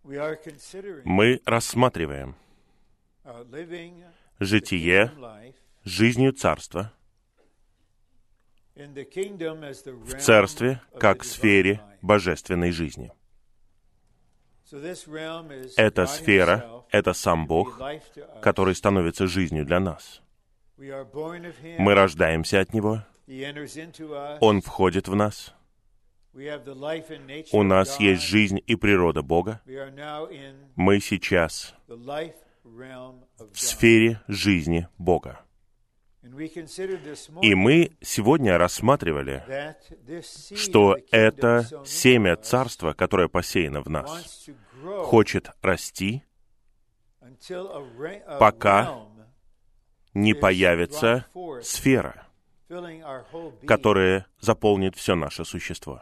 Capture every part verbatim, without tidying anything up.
Мы рассматриваем житие жизнью Царства в Царстве как в сфере божественной жизни. Эта сфера — это сам Бог, который становится жизнью для нас. Мы рождаемся от Него, Он входит в нас. У нас есть жизнь и природа Бога. Мы сейчас в сфере жизни Бога. И мы сегодня рассматривали, что это семя Царства, которое посеяно в нас, хочет расти, пока не появится сфера, которая заполнит все наше существо.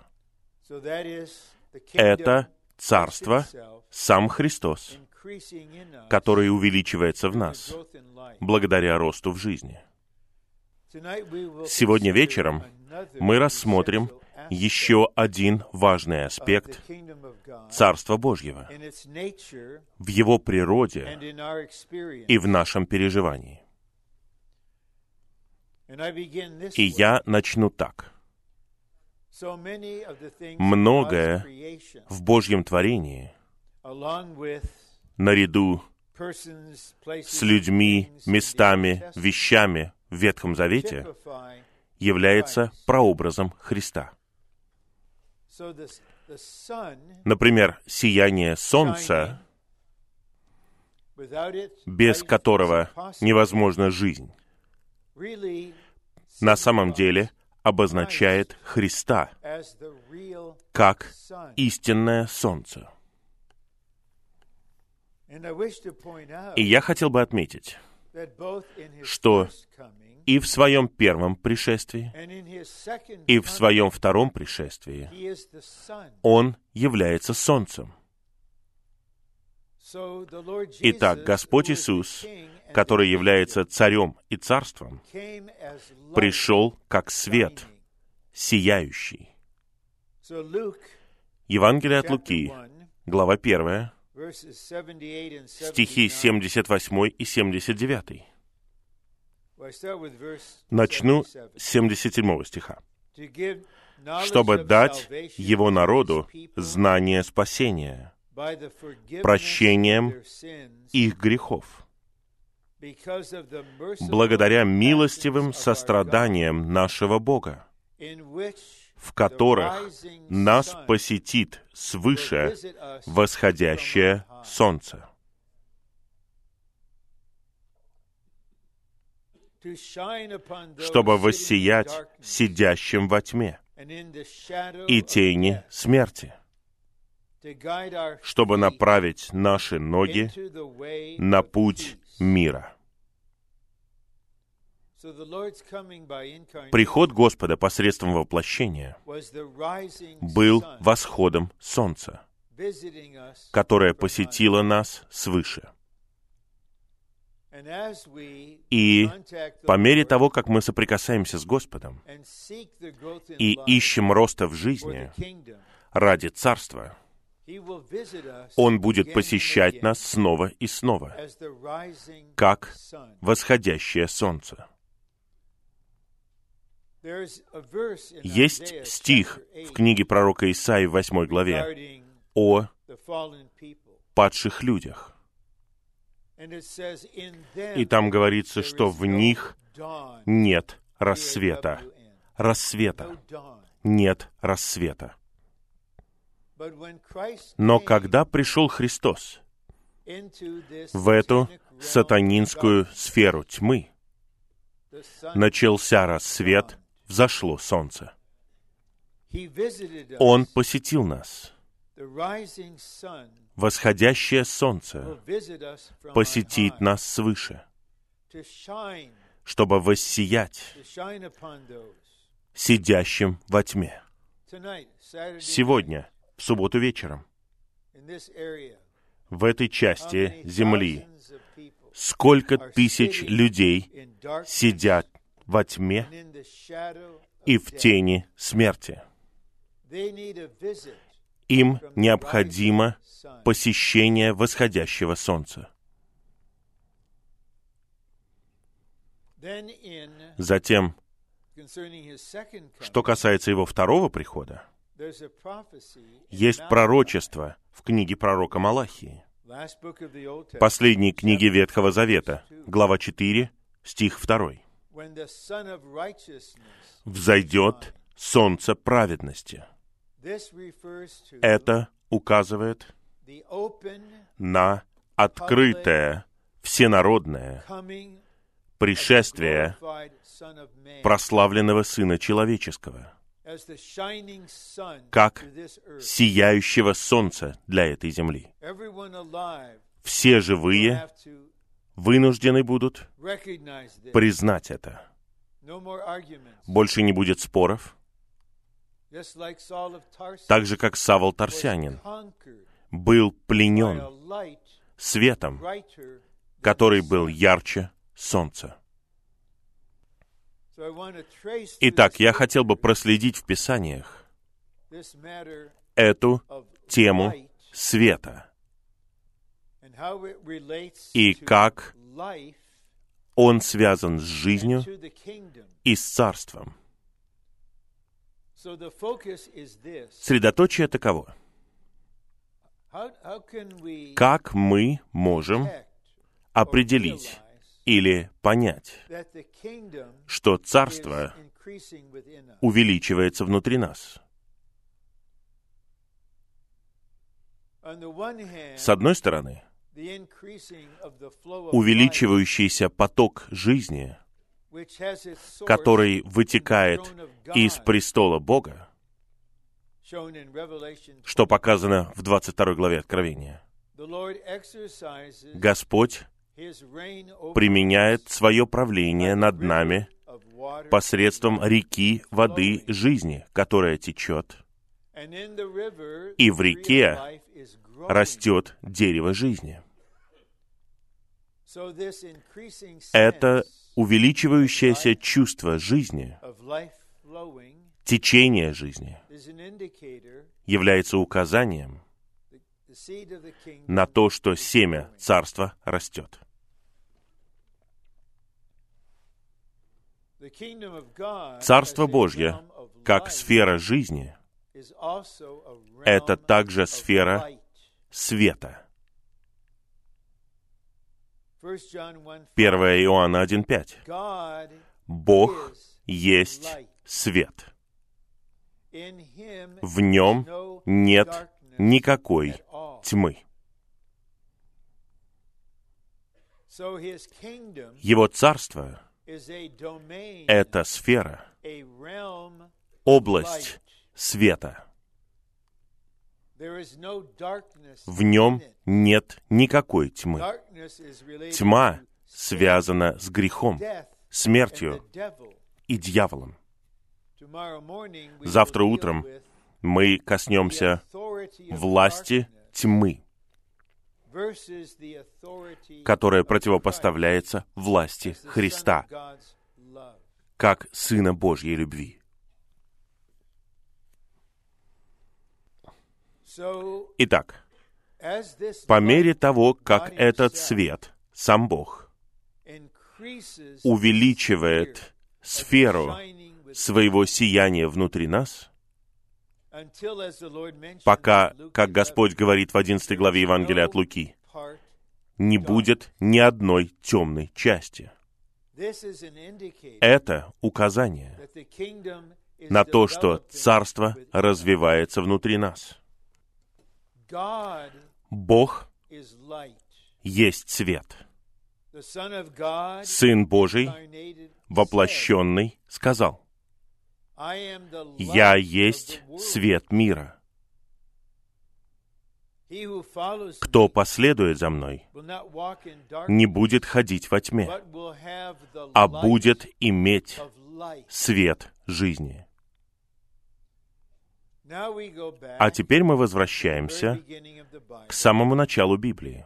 Это Царство, сам Христос, который увеличивается в нас благодаря росту в жизни. Сегодня вечером мы рассмотрим еще один важный аспект Царства Божьего в его природе и в нашем переживании. И я начну так. Многое в Божьем творении, наряду с людьми, местами, вещами в Ветхом Завете, является прообразом Христа. Например, сияние солнца, без которого невозможна жизнь, на самом деле обозначает Христа как истинное солнце. И я хотел бы отметить, что и в своем первом пришествии, и в своем втором пришествии Он является солнцем. Итак, Господь Иисус, который является царем и царством, пришел как свет, сияющий. Евангелие от Луки, глава первая, стихи семьдесят восемь и семьдесят девять. Начну с семьдесят седьмого стиха. «Чтобы дать его народу знание спасения, прощением их грехов, благодаря милостивым состраданиям нашего Бога, в которых нас посетит свыше восходящее солнце». Чтобы воссиять сидящим во тьме и тени смерти, чтобы направить наши ноги на путь мира. Приход Господа посредством воплощения был восходом солнца, которое посетило нас свыше. И по мере того, как мы соприкасаемся с Господом и ищем роста в жизни ради Царства, Он будет посещать нас снова и снова, как восходящее солнце. Есть стих в книге пророка Исаии в восьмой главе о падших людях. И там говорится, что в них нет рассвета. Рассвета. Нет рассвета. Но когда пришел Христос в эту сатанинскую сферу тьмы, начался рассвет, взошло солнце. Он посетил нас. Восходящее солнце посетит нас свыше, чтобы воссиять сидящим во тьме. Сегодня, в субботу вечером, в этой части земли, сколько тысяч людей сидят во тьме и в тени смерти. Им необходимо посещения восходящего солнца. Затем, что касается его второго прихода, есть пророчество в книге пророка Малахии, последней книге Ветхого Завета, глава четыре, стих два. «Взойдет солнце праведности». Это указывает на открытое, всенародное пришествие прославленного Сына Человеческого, как сияющего солнца для этой земли. Все живые вынуждены будут признать это. Больше не будет споров. Так же, как Савл Тарсянин был пленен светом, который был ярче солнца. Итак, я хотел бы проследить в Писаниях эту тему света и как он связан с жизнью и с царством. Средоточие таково. Как мы можем определить или понять, что царство увеличивается внутри нас? С одной стороны, увеличивающийся поток жизни, который вытекает из престола Бога, что показано в двадцать второй главе Откровения. Господь применяет свое правление над нами посредством реки воды жизни, которая течет, и в реке растет дерево жизни. Это увеличивающееся чувство жизни, течение жизни, является указанием на то, что семя царства растет. Царство Божье, как сфера жизни, это также сфера света. первое Иоанна один пять. Бог есть свет. В нем нет никакой тьмы. Его царство — это сфера, область света. В нем нет никакой тьмы. Тьма связана с грехом, смертью и дьяволом. Завтра утром мы коснемся власти тьмы, которая противопоставляется власти Христа, как Сына Божьей любви. Итак, по мере того, как этот свет, сам Бог, увеличивает сферу своего сияния внутри нас, пока, как Господь говорит в одиннадцатой главе Евангелия от Луки, не будет ни одной темной части. Это указание на то, что царство развивается внутри нас. Бог есть свет. Сын Божий, воплощенный, сказал: «Я есть свет мира. Кто последует за мной, не будет ходить во тьме, а будет иметь свет жизни». А теперь мы возвращаемся к самому началу Библии.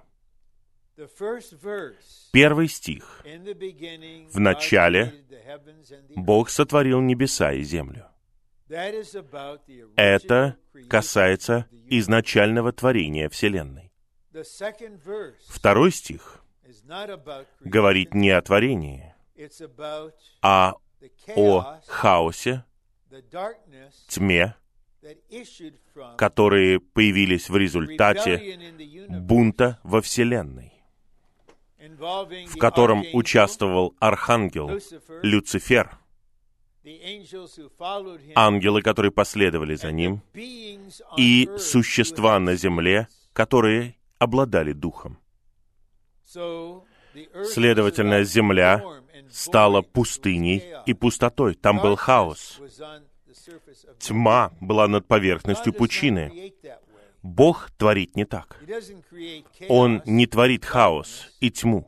Первый стих. В начале Бог сотворил небеса и землю. Это касается изначального творения Вселенной. Второй стих говорит не о творении, а о хаосе, тьме, которые появились в результате бунта во Вселенной, в котором участвовал архангел Люцифер, ангелы, которые последовали за ним, и существа на земле, которые обладали духом. Следовательно, земля стала пустыней и пустотой. Там был хаос. Тьма была над поверхностью пучины. Бог творит не так. Он не творит хаос и тьму.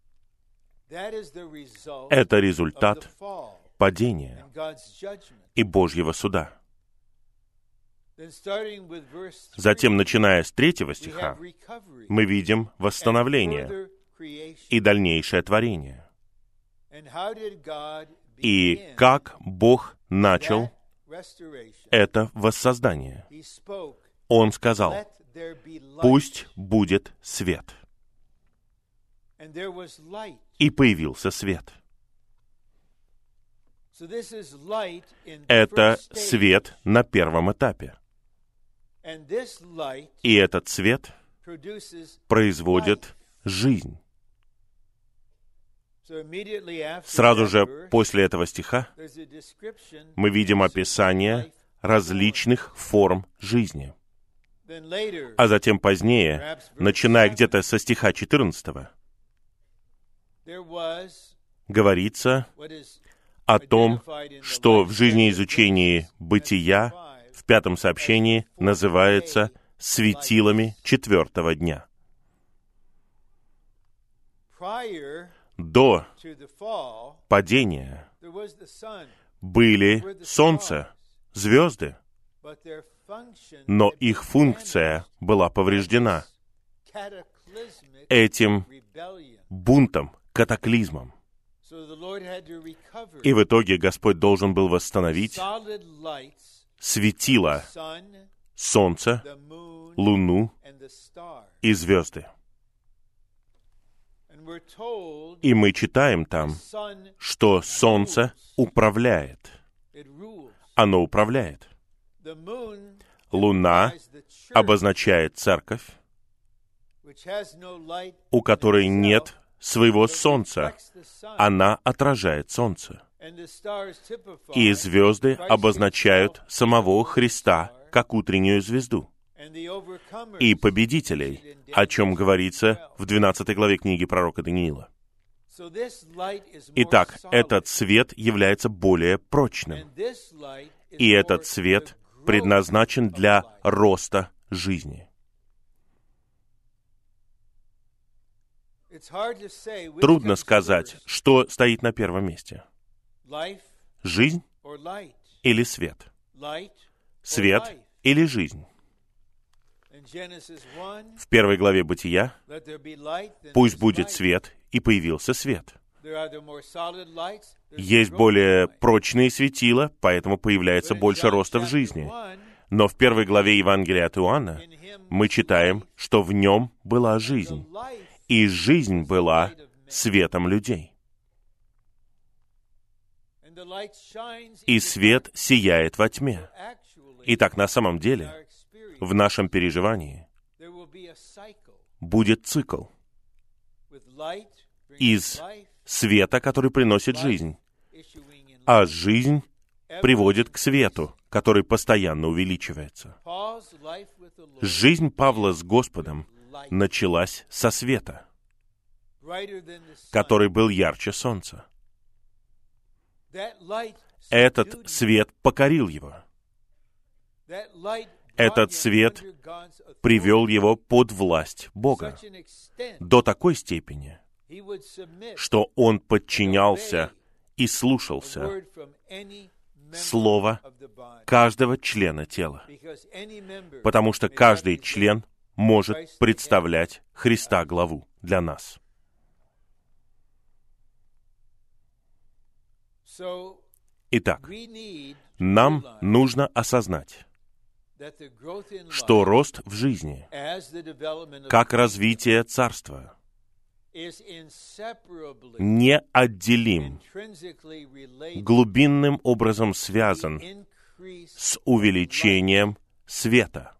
Это результат падения и Божьего суда. Затем, начиная с третьего стиха, мы видим восстановление и дальнейшее творение. И как Бог начал это воссоздание. Он сказал: «Пусть будет свет». И появился свет. Это свет на первом этапе. И этот свет производит жизнь. Сразу же после этого стиха мы видим описание различных форм жизни. А затем позднее, начиная где-то со стиха четырнадцатого, говорится о том, что в жизнеизучении бытия в пятом сообщении называется светилами четвертого дня. До падения были солнце, звезды, но их функция была повреждена этим бунтом, катаклизмом. И в итоге Господь должен был восстановить светило, солнце, луну и звезды. И мы читаем там, что солнце управляет. Оно управляет. Луна обозначает церковь, у которой нет своего солнца. Она отражает солнце. И звезды обозначают самого Христа, как утреннюю звезду. И победителей, о чем говорится в двенадцатой главе книги пророка Даниила. Итак, этот свет является более прочным. И этот свет предназначен для роста жизни. Трудно сказать, что стоит на первом месте. Жизнь или свет? Свет или жизнь? В первой главе Бытия «Пусть будет свет», и появился свет. Есть более прочные светила, поэтому появляется больше роста в жизни. Но в первой главе Евангелия от Иоанна мы читаем, что в нем была жизнь, и жизнь была светом людей. И свет сияет во тьме. Итак, на самом деле, в нашем переживании будет цикл из света, который приносит жизнь, а жизнь приводит к свету, который постоянно увеличивается. Жизнь Павла с Господом началась со света, который был ярче солнца. Этот свет покорил его. Этот свет привел его под власть Бога до такой степени, что он подчинялся и слушался слова каждого члена тела, потому что каждый член может представлять Христа главу для нас. Итак, нам нужно осознать, что рост в жизни, как развитие Царства, неотделим, глубинным образом связан с увеличением света.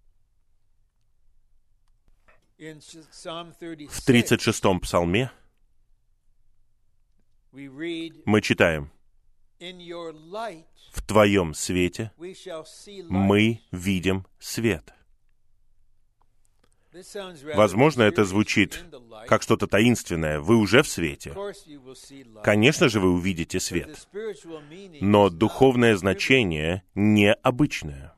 В тридцать шестом псалме мы читаем: «В Твоем свете мы видим свет». Возможно, это звучит как что-то таинственное. Вы уже в свете. Конечно же, вы увидите свет. Но духовное значение необычное.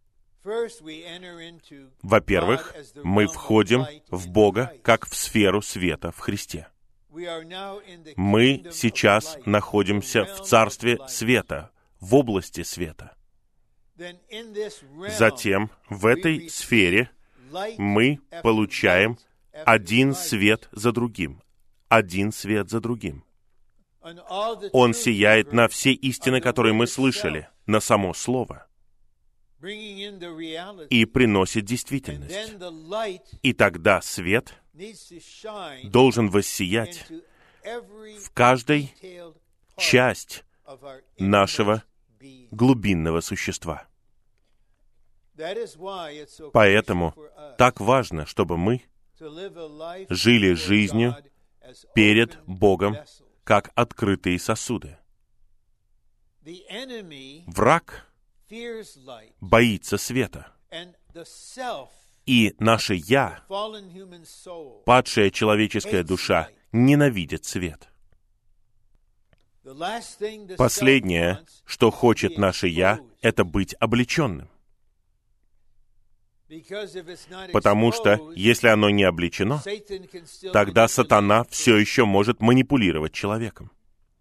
Во-первых, мы входим в Бога как в сферу света в Христе. Мы сейчас находимся в царстве света, в области света. Затем в этой сфере мы получаем один свет за другим, один свет за другим. Он сияет на все истины, которые мы слышали, на само Слово, и приносит действительность. И тогда свет должен воссиять в каждой часть нашего глубинного существа. Поэтому так важно, чтобы мы жили жизнью перед Богом, как открытые сосуды. Враг боится света, и наше «я», падшая человеческая душа, ненавидит свет. Последнее, что хочет наше «я», это быть облеченным. Потому что, если оно не облечено, тогда сатана все еще может манипулировать человеком.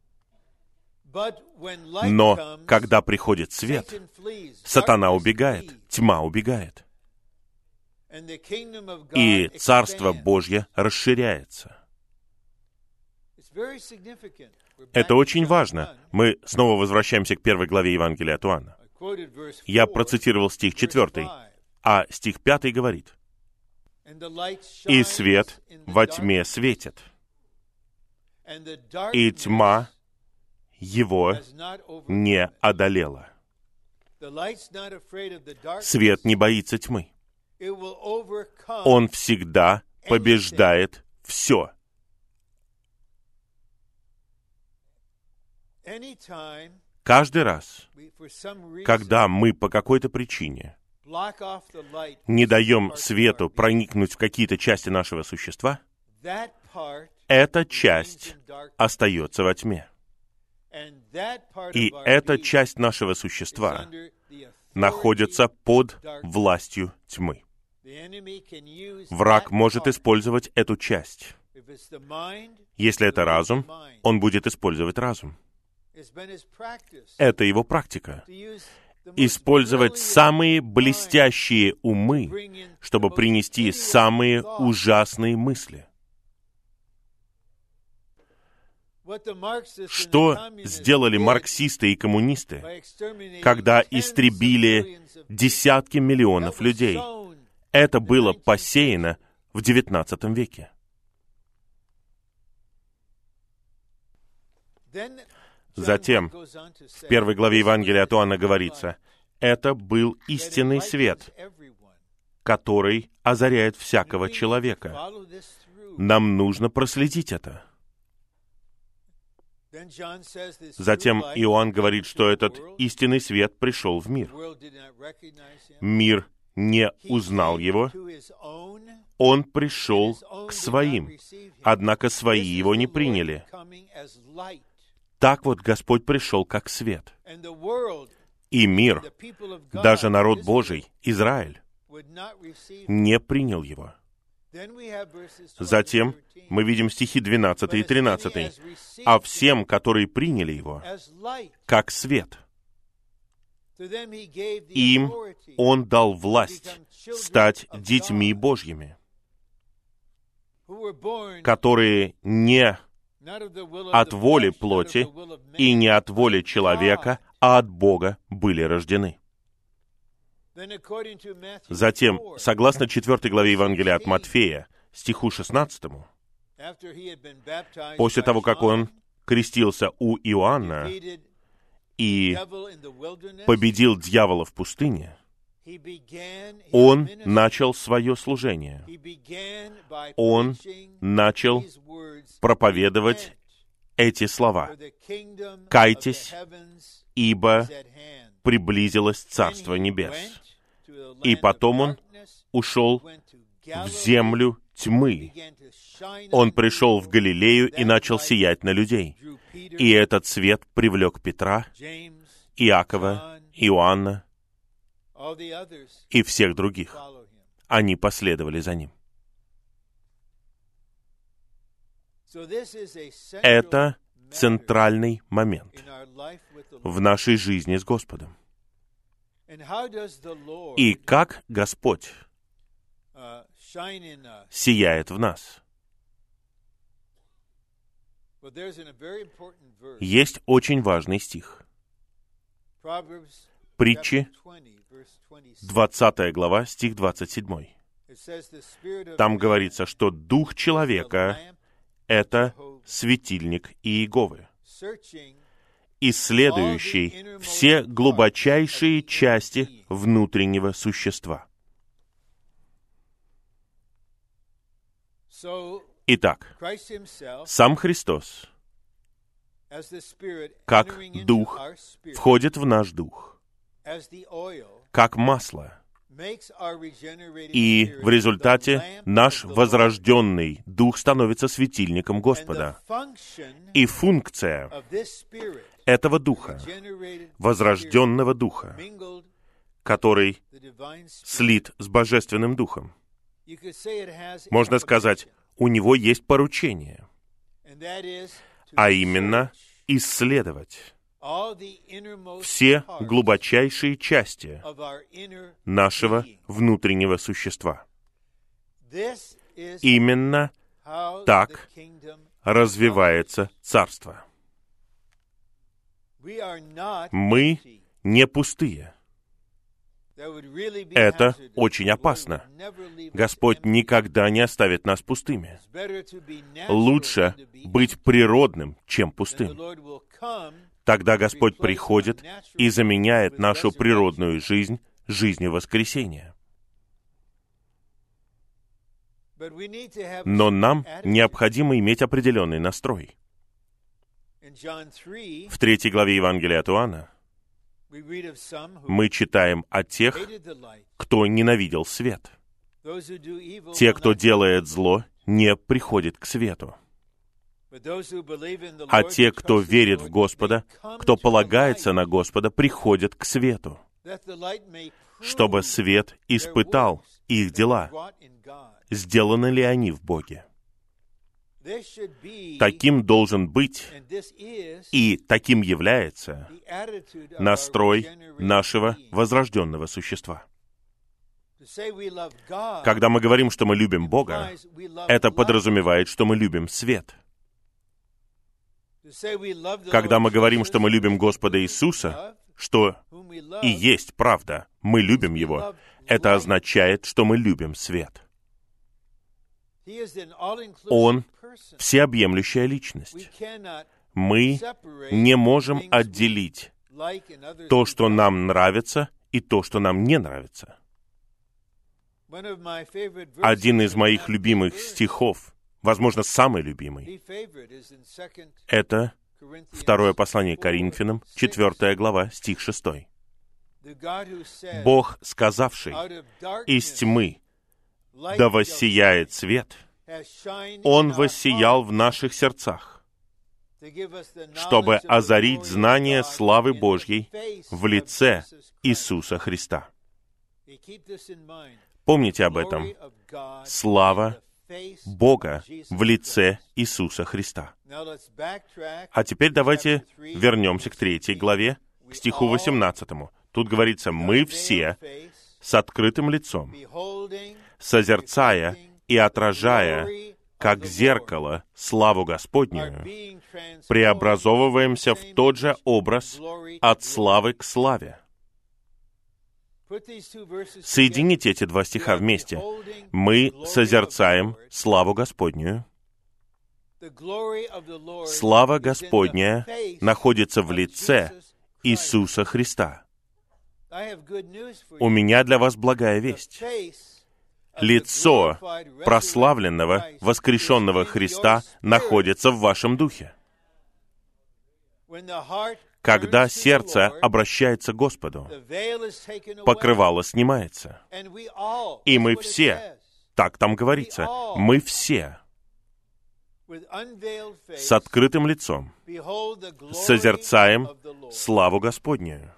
Но когда приходит свет, сатана убегает, тьма убегает. И Царство Божье расширяется. Это очень важно. Мы снова возвращаемся к первой главе Евангелия от Иоанна. Я процитировал стих четвертый. А стих пятый говорит: «И свет во тьме светит, и тьма его не одолела». Свет не боится тьмы. Он всегда побеждает все. Каждый раз, когда мы по какой-то причине не даем свету проникнуть в какие-то части нашего существа, эта часть остается во тьме. И эта часть нашего существа находится под властью тьмы. Враг может использовать эту часть. Если это разум, он будет использовать разум. Это его практика. Использовать самые блестящие умы, чтобы принести самые ужасные мысли. Что сделали марксисты и коммунисты, когда истребили десятки миллионов людей? Это было посеяно в девятнадцатом веке. Затем, в первой главе Евангелия от Иоанна говорится: это был истинный свет, который озаряет всякого человека. Нам нужно проследить это. Затем Иоанн говорит, что этот истинный свет пришел в мир. Мир не узнал его. Он пришел к своим, однако свои его не приняли. Так вот Господь пришел как свет. И мир, даже народ Божий, Израиль, не принял его. Затем мы видим стихи двенадцатый и тринадцатый. «А всем, которые приняли его, как свет, им Он дал власть стать детьми Божьими, которые не от воли плоти и не от воли человека, а от Бога были рождены». Затем, согласно четвёртой главе Евангелия от Матфея, стиху шестнадцатому, после того, как он крестился у Иоанна и победил дьявола в пустыне, он начал свое служение. Он начал проповедовать эти слова: «Кайтесь, ибо приблизилось Царство Небес». И потом он ушел в землю тьмы. Он пришел в Галилею и начал сиять на людей. И этот свет привлек Петра, Иакова, Иоанна и всех других. Они последовали за ним. Это центральный момент в нашей жизни с Господом. И как Господь сияет в нас. Есть очень важный стих. Притчи, двадцатая глава, стих двадцать семь. Там говорится, что дух человека — это светильник Иеговы, исследующий все глубочайшие части внутреннего существа. Итак, сам Христос, как Дух, входит в наш дух, как масло, и в результате наш возрожденный дух становится светильником Господа. И функция этого духа, возрожденного духа, который слит с Божественным Духом, можно сказать, у него есть поручение, а именно исследовать все глубочайшие части нашего внутреннего существа. Именно так развивается Царство. Мы не пустые. Это очень опасно. Господь никогда не оставит нас пустыми. Лучше быть природным, чем пустым. Тогда Господь приходит и заменяет нашу природную жизнь жизнью воскресения. Но нам необходимо иметь определенный настрой. В третьей главе Евангелия от Иоанна мы читаем о тех, кто ненавидел свет. Те, кто делает зло, не приходят к свету. А те, кто верит в Господа, кто полагается на Господа, приходят к свету, чтобы свет испытал их дела, сделаны ли они в Боге. Таким должен быть, и таким является настрой нашего возрожденного существа. Когда мы говорим, что мы любим Бога, это подразумевает, что мы любим свет. Когда мы говорим, что мы любим Господа Иисуса, что и есть правда, мы любим Его, это означает, что мы любим свет. Он всеобъемлющая личность. Мы не можем отделить то, что нам нравится, и то, что нам не нравится. Один из моих любимых стихов, возможно, самый любимый, это второе послание к Коринфянам, четвёртая глава, стих шестой. «Бог, сказавший, из тьмы да воссияет свет, Он воссиял в наших сердцах, чтобы озарить знание славы Божьей в лице Иисуса Христа». Помните об этом. Слава Бога в лице Иисуса Христа. А теперь давайте вернемся к третьей главе, к стиху восемнадцатому. Тут говорится: «Мы все с открытым лицом, созерцая и отражая, как зеркало, славу Господнюю, преобразовываемся в тот же образ от славы к славе». Соедините эти два стиха вместе. Мы созерцаем славу Господню. Слава Господня находится в лице Иисуса Христа. У меня для вас благая весть. Лицо прославленного, воскрешенного Христа находится в вашем духе. Когда сердце обращается к Господу, покрывало снимается. И мы все, так там говорится, мы все с открытым лицом созерцаем славу Господню.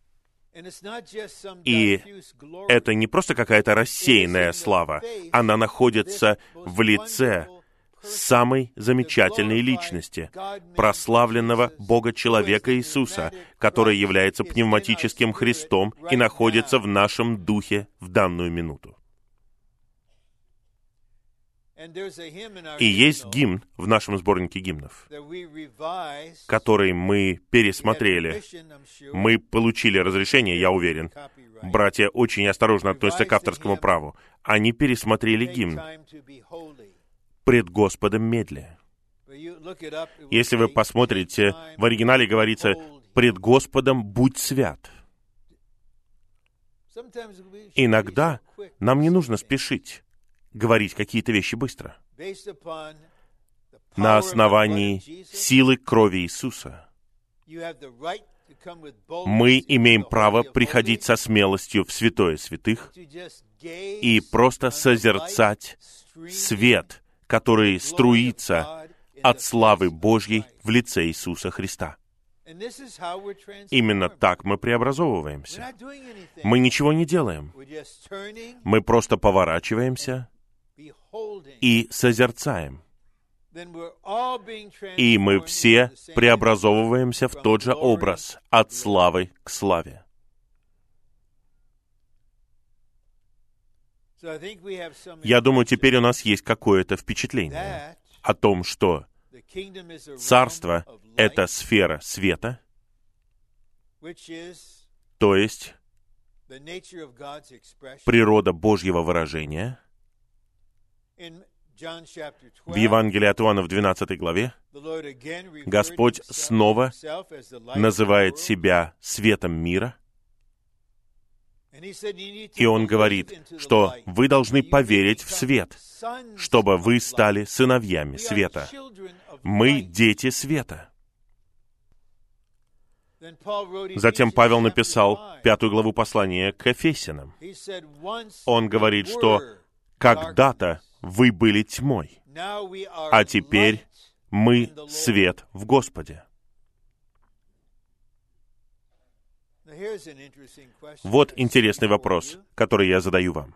И это не просто какая-то рассеянная слава, она находится в лице самой замечательной личности, прославленного Бога-человека Иисуса, который является пневматическим Христом и находится в нашем духе в данную минуту. И есть гимн в нашем сборнике гимнов, который мы пересмотрели. Мы получили разрешение, я уверен. Братья очень осторожно относятся к авторскому праву. Они пересмотрели гимн «Пред Господом медли». Если вы посмотрите, в оригинале говорится «Пред Господом будь свят». Иногда нам не нужно спешить говорить какие-то вещи быстро. На основании силы крови Иисуса мы имеем право приходить со смелостью в святое святых и просто созерцать свет, который струится от славы Божьей в лице Иисуса Христа. Именно так мы преобразовываемся. Мы ничего не делаем. Мы просто поворачиваемся и созерцаем. И мы все преобразовываемся в тот же образ, от славы к славе. Я думаю, теперь у нас есть какое-то впечатление о том, что Царство — это сфера света, то есть природа Божьего выражения. В Евангелии от Иоанна в двенадцатой главе Господь снова называет себя светом мира, и Он говорит, что вы должны поверить в свет, чтобы вы стали сыновьями света. Мы дети света. Затем Павел написал пятую главу послания к Ефесянам. Он говорит, что когда-то вы были тьмой, а теперь мы свет в Господе. Вот интересный вопрос, который я задаю вам.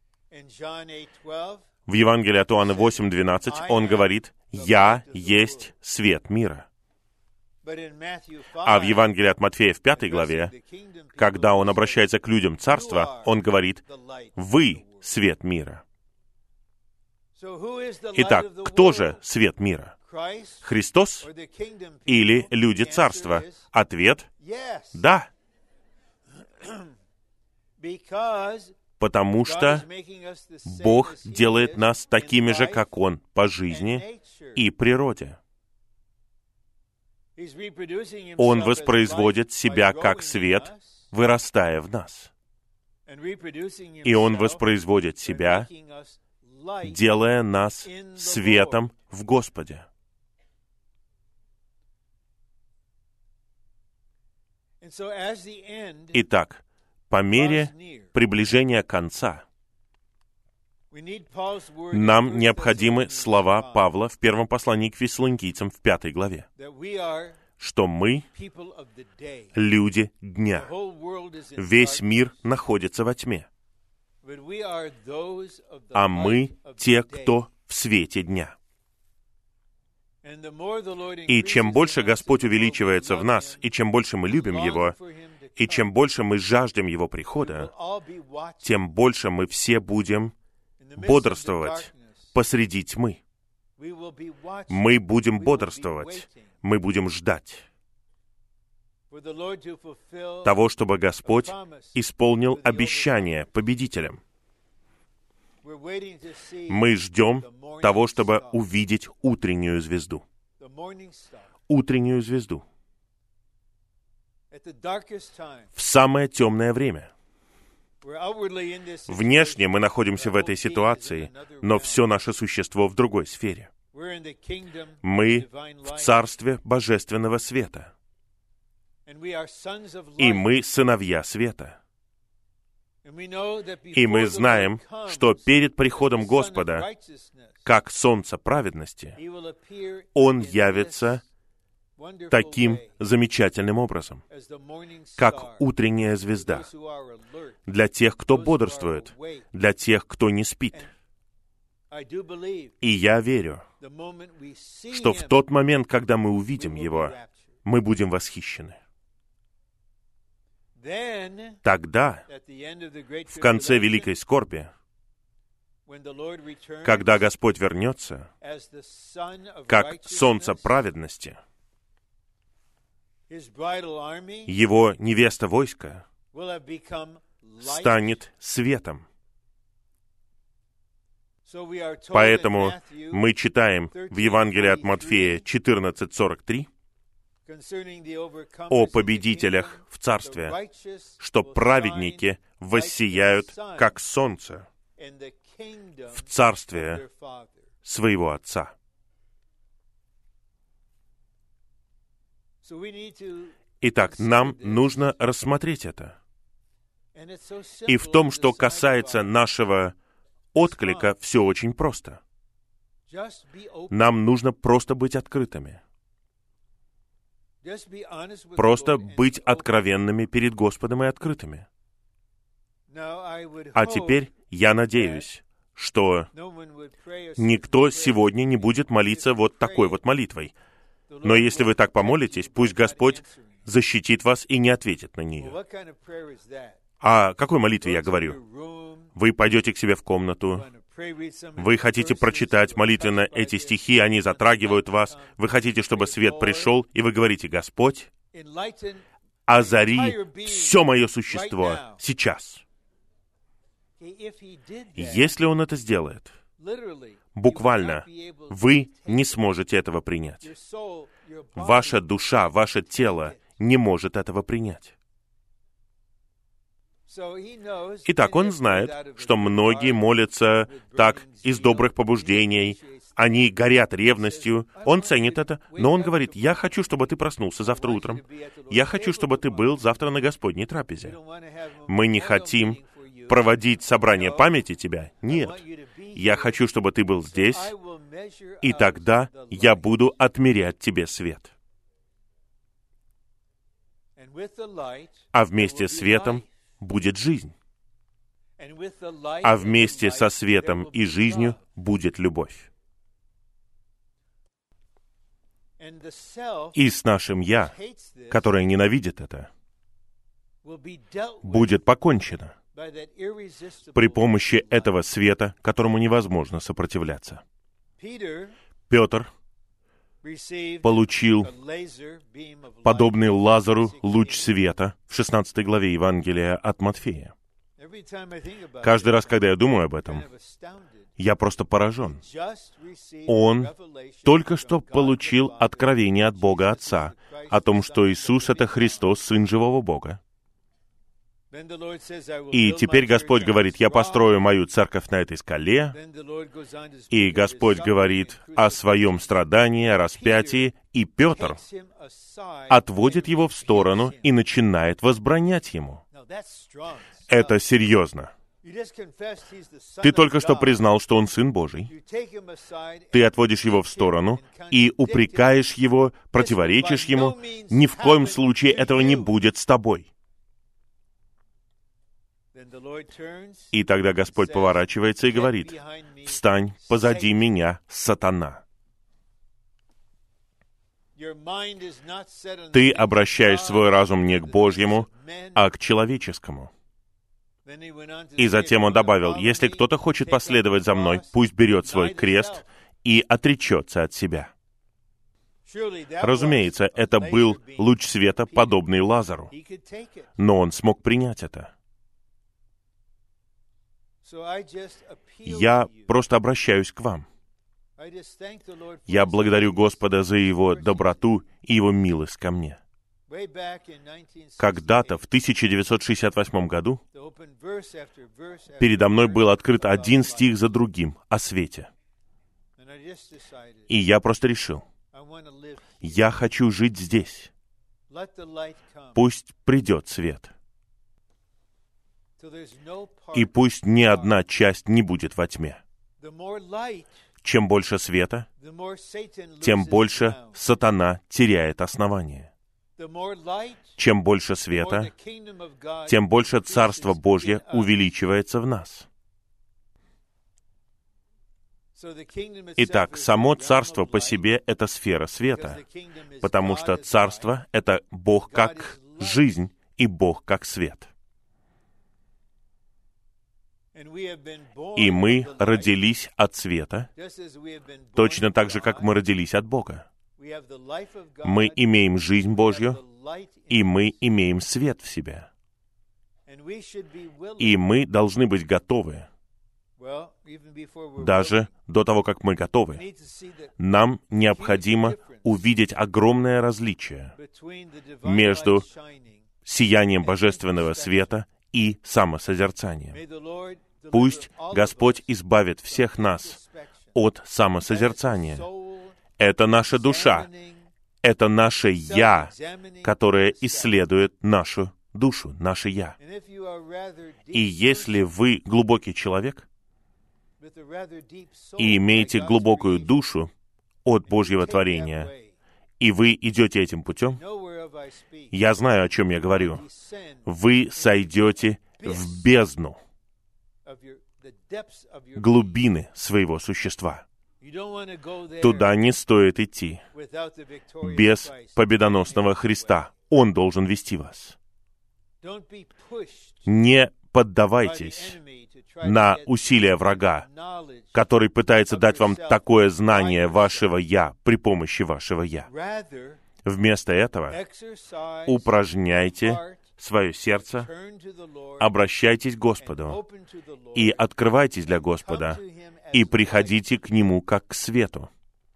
В Евангелии от Иоанна восемь двенадцать он говорит: «Я есть свет мира». А в Евангелии от Матфея в пятой главе, когда он обращается к людям царства, он говорит: «Вы свет мира». Итак, кто же свет мира? Христос или люди царства? Ответ — да. Потому что Бог делает нас такими же, как Он, по жизни и природе. Он воспроизводит себя как свет, вырастая в нас. И Он воспроизводит себя, делая нас светом в Господе. Итак, по мере приближения конца, нам необходимы слова Павла в первом послании к Фессалоникийцам в пятой главе, что мы — люди дня. Весь мир находится во тьме, а мы — те, кто в свете дня. И чем больше Господь увеличивается в нас, и чем больше мы любим Его, и чем больше мы жаждем Его прихода, тем больше мы все будем бодрствовать посреди тьмы. Мы будем бодрствовать, мы будем ждать. того, чтобы Господь исполнил обещание победителям. Мы ждем того, чтобы увидеть утреннюю звезду. Утреннюю звезду. В самое темное время. Внешне мы находимся в этой ситуации, но все наше существо в другой сфере. Мы в царстве божественного света. И мы сыновья света. И мы знаем, что перед приходом Господа, как солнце праведности, Он явится таким замечательным образом, как утренняя звезда, для тех, кто бодрствует, для тех, кто не спит. И я верю, что в тот момент, когда мы увидим Его, мы будем восхищены. Тогда, в конце великой скорби, когда Господь вернется, как солнце праведности, Его невеста войска станет светом. Поэтому мы читаем в Евангелии от Матфея четырнадцать сорок три о победителях в Царстве, что праведники воссияют, как солнце, в Царстве своего Отца. Итак, нам нужно рассмотреть это. И в том, что касается нашего отклика, все очень просто. Нам нужно просто быть открытыми. Просто быть откровенными перед Господом и открытыми. А теперь я надеюсь, что никто сегодня не будет молиться вот такой вот молитвой. Но если вы так помолитесь, пусть Господь защитит вас и не ответит на нее. О какой молитве я говорю? Вы пойдете к себе в комнату, вы хотите прочитать молитвенно эти стихи, они затрагивают вас, вы хотите, чтобы свет пришел, и вы говорите: «Господь, озари все мое существо сейчас». Если Он это сделает, буквально, вы не сможете этого принять. Ваша душа, ваше тело не может этого принять. Итак, Он знает, что многие молятся так из добрых побуждений, они горят ревностью, Он ценит это, но Он говорит: «Я хочу, чтобы ты проснулся завтра утром. Я хочу, чтобы ты был завтра на Господней трапезе». Мы не хотим проводить собрание памяти тебя. Нет. Я хочу, чтобы ты был здесь, и тогда я буду отмерять тебе свет. А вместе с светом будет жизнь. А вместе со светом и жизнью будет любовь. И с нашим «я», которое ненавидит это, будет покончено при помощи этого света, которому невозможно сопротивляться. Петр получил подобный Лазару луч света в шестнадцатой главе Евангелия от Матфея. Каждый раз, когда я думаю об этом, я просто поражен. Он только что получил откровение от Бога Отца о том, что Иисус — это Христос, Сын живого Бога. И теперь Господь говорит: «Я построю мою церковь на этой скале». И Господь говорит о своем страдании, о распятии. И Петр отводит его в сторону и начинает возбранять ему. Это серьезно. Ты только что признал, что он Сын Божий. Ты отводишь его в сторону и упрекаешь его, противоречишь ему. Ни в коем случае этого не будет с тобой. И тогда Господь поворачивается и говорит: «Встань позади меня, сатана». Ты обращаешь свой разум не к Божьему, а к человеческому. И затем он добавил: «Если кто-то хочет последовать за мной, пусть берет свой крест и отречется от себя». Разумеется, это был луч света, подобный Лазару, но он смог принять это. Я просто обращаюсь к вам. Я благодарю Господа за Его доброту и Его милость ко мне. Когда-то, в тысяча девятьсот шестьдесят восьмом году, передо мной был открыт один стих за другим о свете. И я просто решил, я хочу жить здесь. Пусть придет свет. И пусть ни одна часть не будет во тьме. Чем больше света, тем больше сатана теряет основание. Чем больше света, тем больше Царство Божье увеличивается в нас. Итак, само Царство по себе — это сфера света, потому что Царство — это Бог как жизнь и Бог как свет. И мы родились от света, точно так же, как мы родились от Бога. Мы имеем жизнь Божью, и мы имеем свет в себе. И мы должны быть готовы, даже до того, как мы готовы. Нам необходимо увидеть огромное различие между сиянием божественного света и самосозерцанием. Пусть Господь избавит всех нас от самосозерцания. Это наша душа, это наше «я», которое исследует нашу душу, наше «я». И если вы глубокий человек и имеете глубокую душу от Божьего творения, и вы идете этим путем, я знаю, о чем я говорю. Вы сойдете в бездну, глубины своего существа. Туда не стоит идти без победоносного Христа. Он должен вести вас. Не поддавайтесь на усилия врага, который пытается дать вам такое знание вашего «я» при помощи вашего «я». Вместо этого упражняйте свое сердце, обращайтесь к Господу и открывайтесь для Господа, и приходите к Нему как к свету.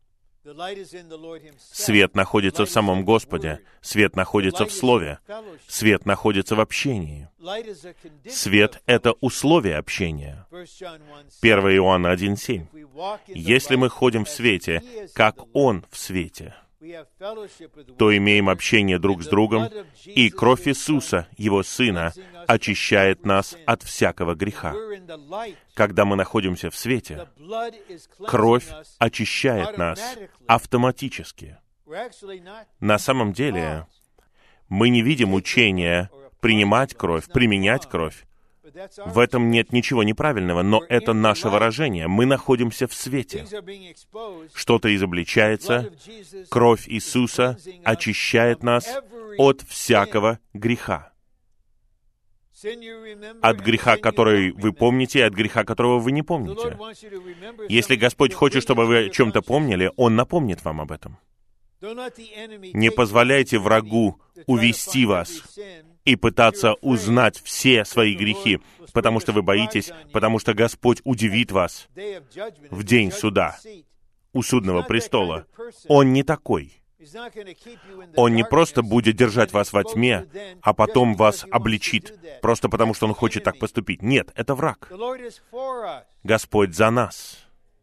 Свет находится в самом Господе, свет находится в Слове, свет находится в общении. Свет — это условие общения. первое Иоанна один семь. Если мы ходим в свете, как Он в свете, то имеем общение друг с другом, и кровь Иисуса, Его Сына, очищает нас от всякого греха. Когда мы находимся в свете, кровь очищает нас автоматически. На самом деле, мы не видим учения принимать кровь, применять кровь. В этом нет ничего неправильного, но это наше выражение. Мы находимся в свете. Что-то изобличается, кровь Иисуса очищает нас от всякого греха. От греха, который вы помните, и от греха, которого вы не помните. Если Господь хочет, чтобы вы о чем-то помнили, Он напомнит вам об этом. Не позволяйте врагу увести вас и пытаться узнать все свои грехи, потому что вы боитесь, потому что Господь удивит вас в день суда у судного престола. Он не такой. Он не просто будет держать вас во тьме, а потом вас обличит, просто потому что Он хочет так поступить. Нет, это враг. Господь за нас.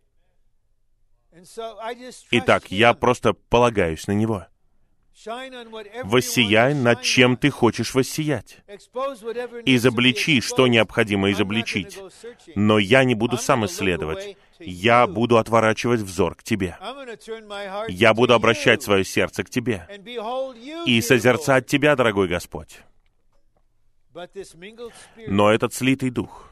Итак, я просто полагаюсь на Него. Воссияй, над чем ты хочешь воссиять. Изобличи, что необходимо изобличить. Но я не буду сам исследовать. Я буду отворачивать взор к Тебе. Я буду обращать свое сердце к Тебе. И созерцать Тебя, дорогой Господь. Но этот слитый дух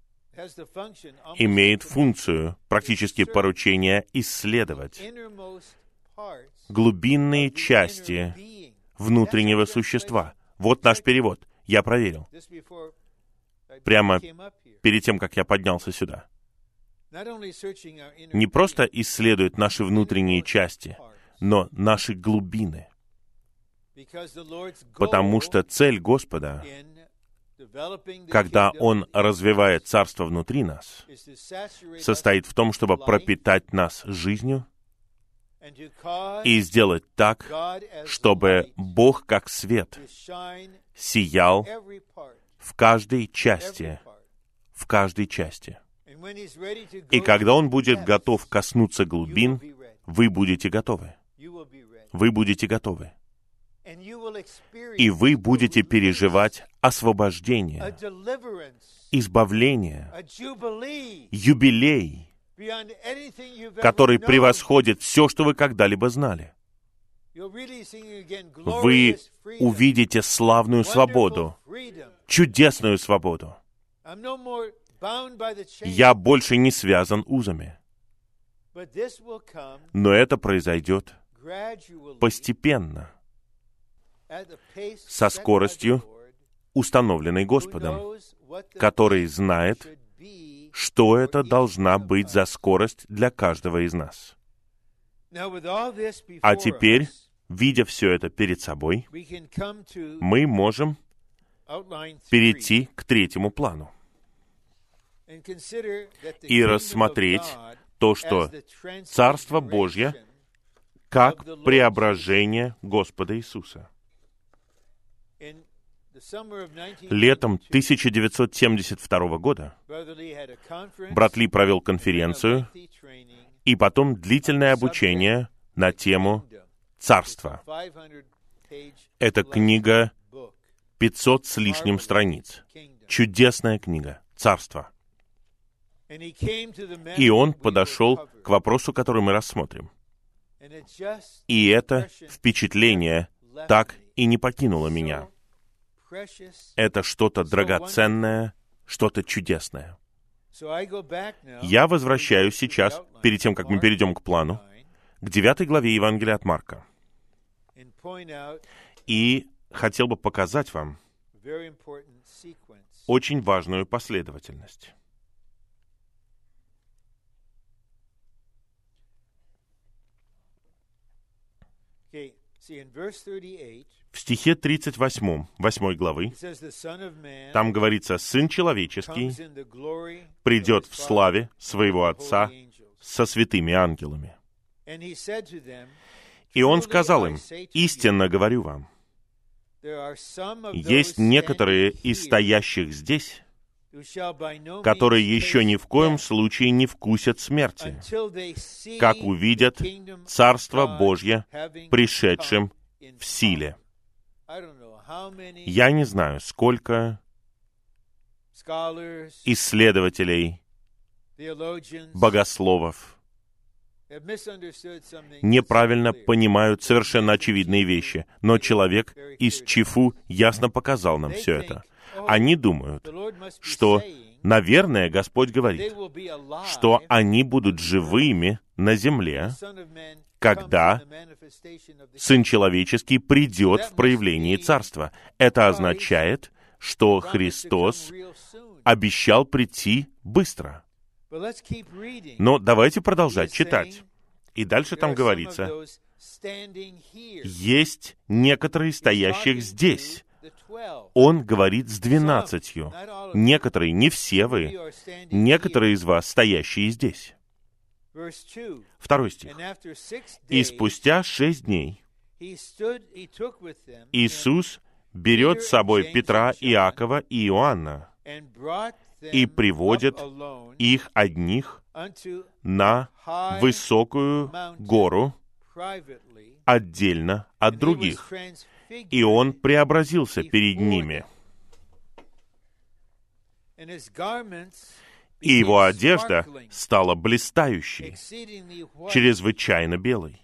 имеет функцию, практически поручение, исследовать глубинные части внутреннего существа. Вот наш перевод. Я проверил. Прямо перед тем, как я поднялся сюда. Не просто исследует наши внутренние части, но наши глубины. Потому что цель Господа, когда Он развивает Царство внутри нас, состоит в том, чтобы пропитать нас жизнью и сделать так, чтобы Бог как свет сиял в каждой части, в каждой части. И когда Он будет готов коснуться глубин, вы будете готовы. Вы будете готовы. И вы будете переживать освобождение, избавление, юбилей, который превосходит все, что вы когда-либо знали. Вы увидите славную свободу, чудесную свободу. Я больше не связан узами. Но это произойдет постепенно, со скоростью, установленной Господом, который знает, что это должна быть за скорость для каждого из нас. А теперь, видя все это перед собой, мы можем перейти к третьему плану и рассмотреть то, что Царство Божье как преображение Господа Иисуса. Летом тысяча девятьсот семьдесят второго года брат Ли провел конференцию и потом длительное обучение на тему «Царство». Это книга пятьсот с лишним страниц. Чудесная книга «Царство». И он подошел к вопросу, который мы рассмотрим. И это впечатление так и не покинуло меня. Это что-то драгоценное, что-то чудесное. Я возвращаюсь сейчас, перед тем, как мы перейдем к плану, к девятой главе Евангелия от Марка. И хотел бы показать вам очень важную последовательность. В стихе тридцать восьмом, восьмой главы, там говорится: «Сын человеческий придет в славе своего Отца со святыми ангелами». И Он сказал им: «Истинно говорю вам, есть некоторые из стоящих здесь, которые еще ни в коем случае не вкусят смерти, как увидят Царство Божье пришедшим в силе». Я не знаю, сколько исследователей, богословов неправильно понимают совершенно очевидные вещи, но человек из Чифу ясно показал нам все это. Они думают, что, наверное, Господь говорит, что они будут живыми на земле, когда Сын Человеческий придет в проявлении Царства. Это означает, что Христос обещал прийти быстро. Но давайте продолжать читать. И дальше там говорится: «Есть некоторые стоящих здесь». Он говорит с двенадцатью. Некоторые, не все вы, некоторые из вас, стоящие здесь. Второй стих. «И спустя шесть дней Иисус берет с собой Петра, Иакова и Иоанна и приводит их одних на высокую гору отдельно от других, и Он преобразился перед ними. И Его одежда стала блистающей, чрезвычайно белой,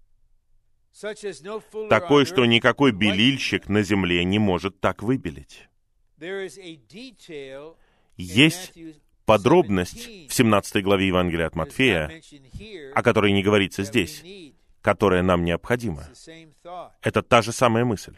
такой, что никакой белильщик на земле не может так выбелить». Есть подробность в семнадцатой главе Евангелия от Матфея, о которой не говорится здесь, которая нам необходима. Это та же самая мысль.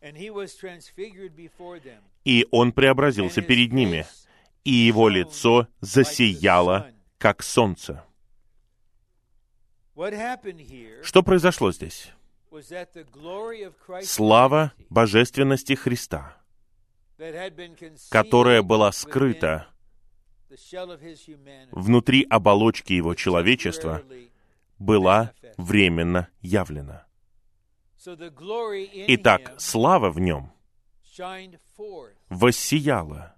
И он преобразился перед ними, и его лицо засияло, как солнце. Что произошло здесь? Слава божественности Христа, которая была скрыта внутри оболочки его человечества, была временно явлена. Итак, слава в нем воссияла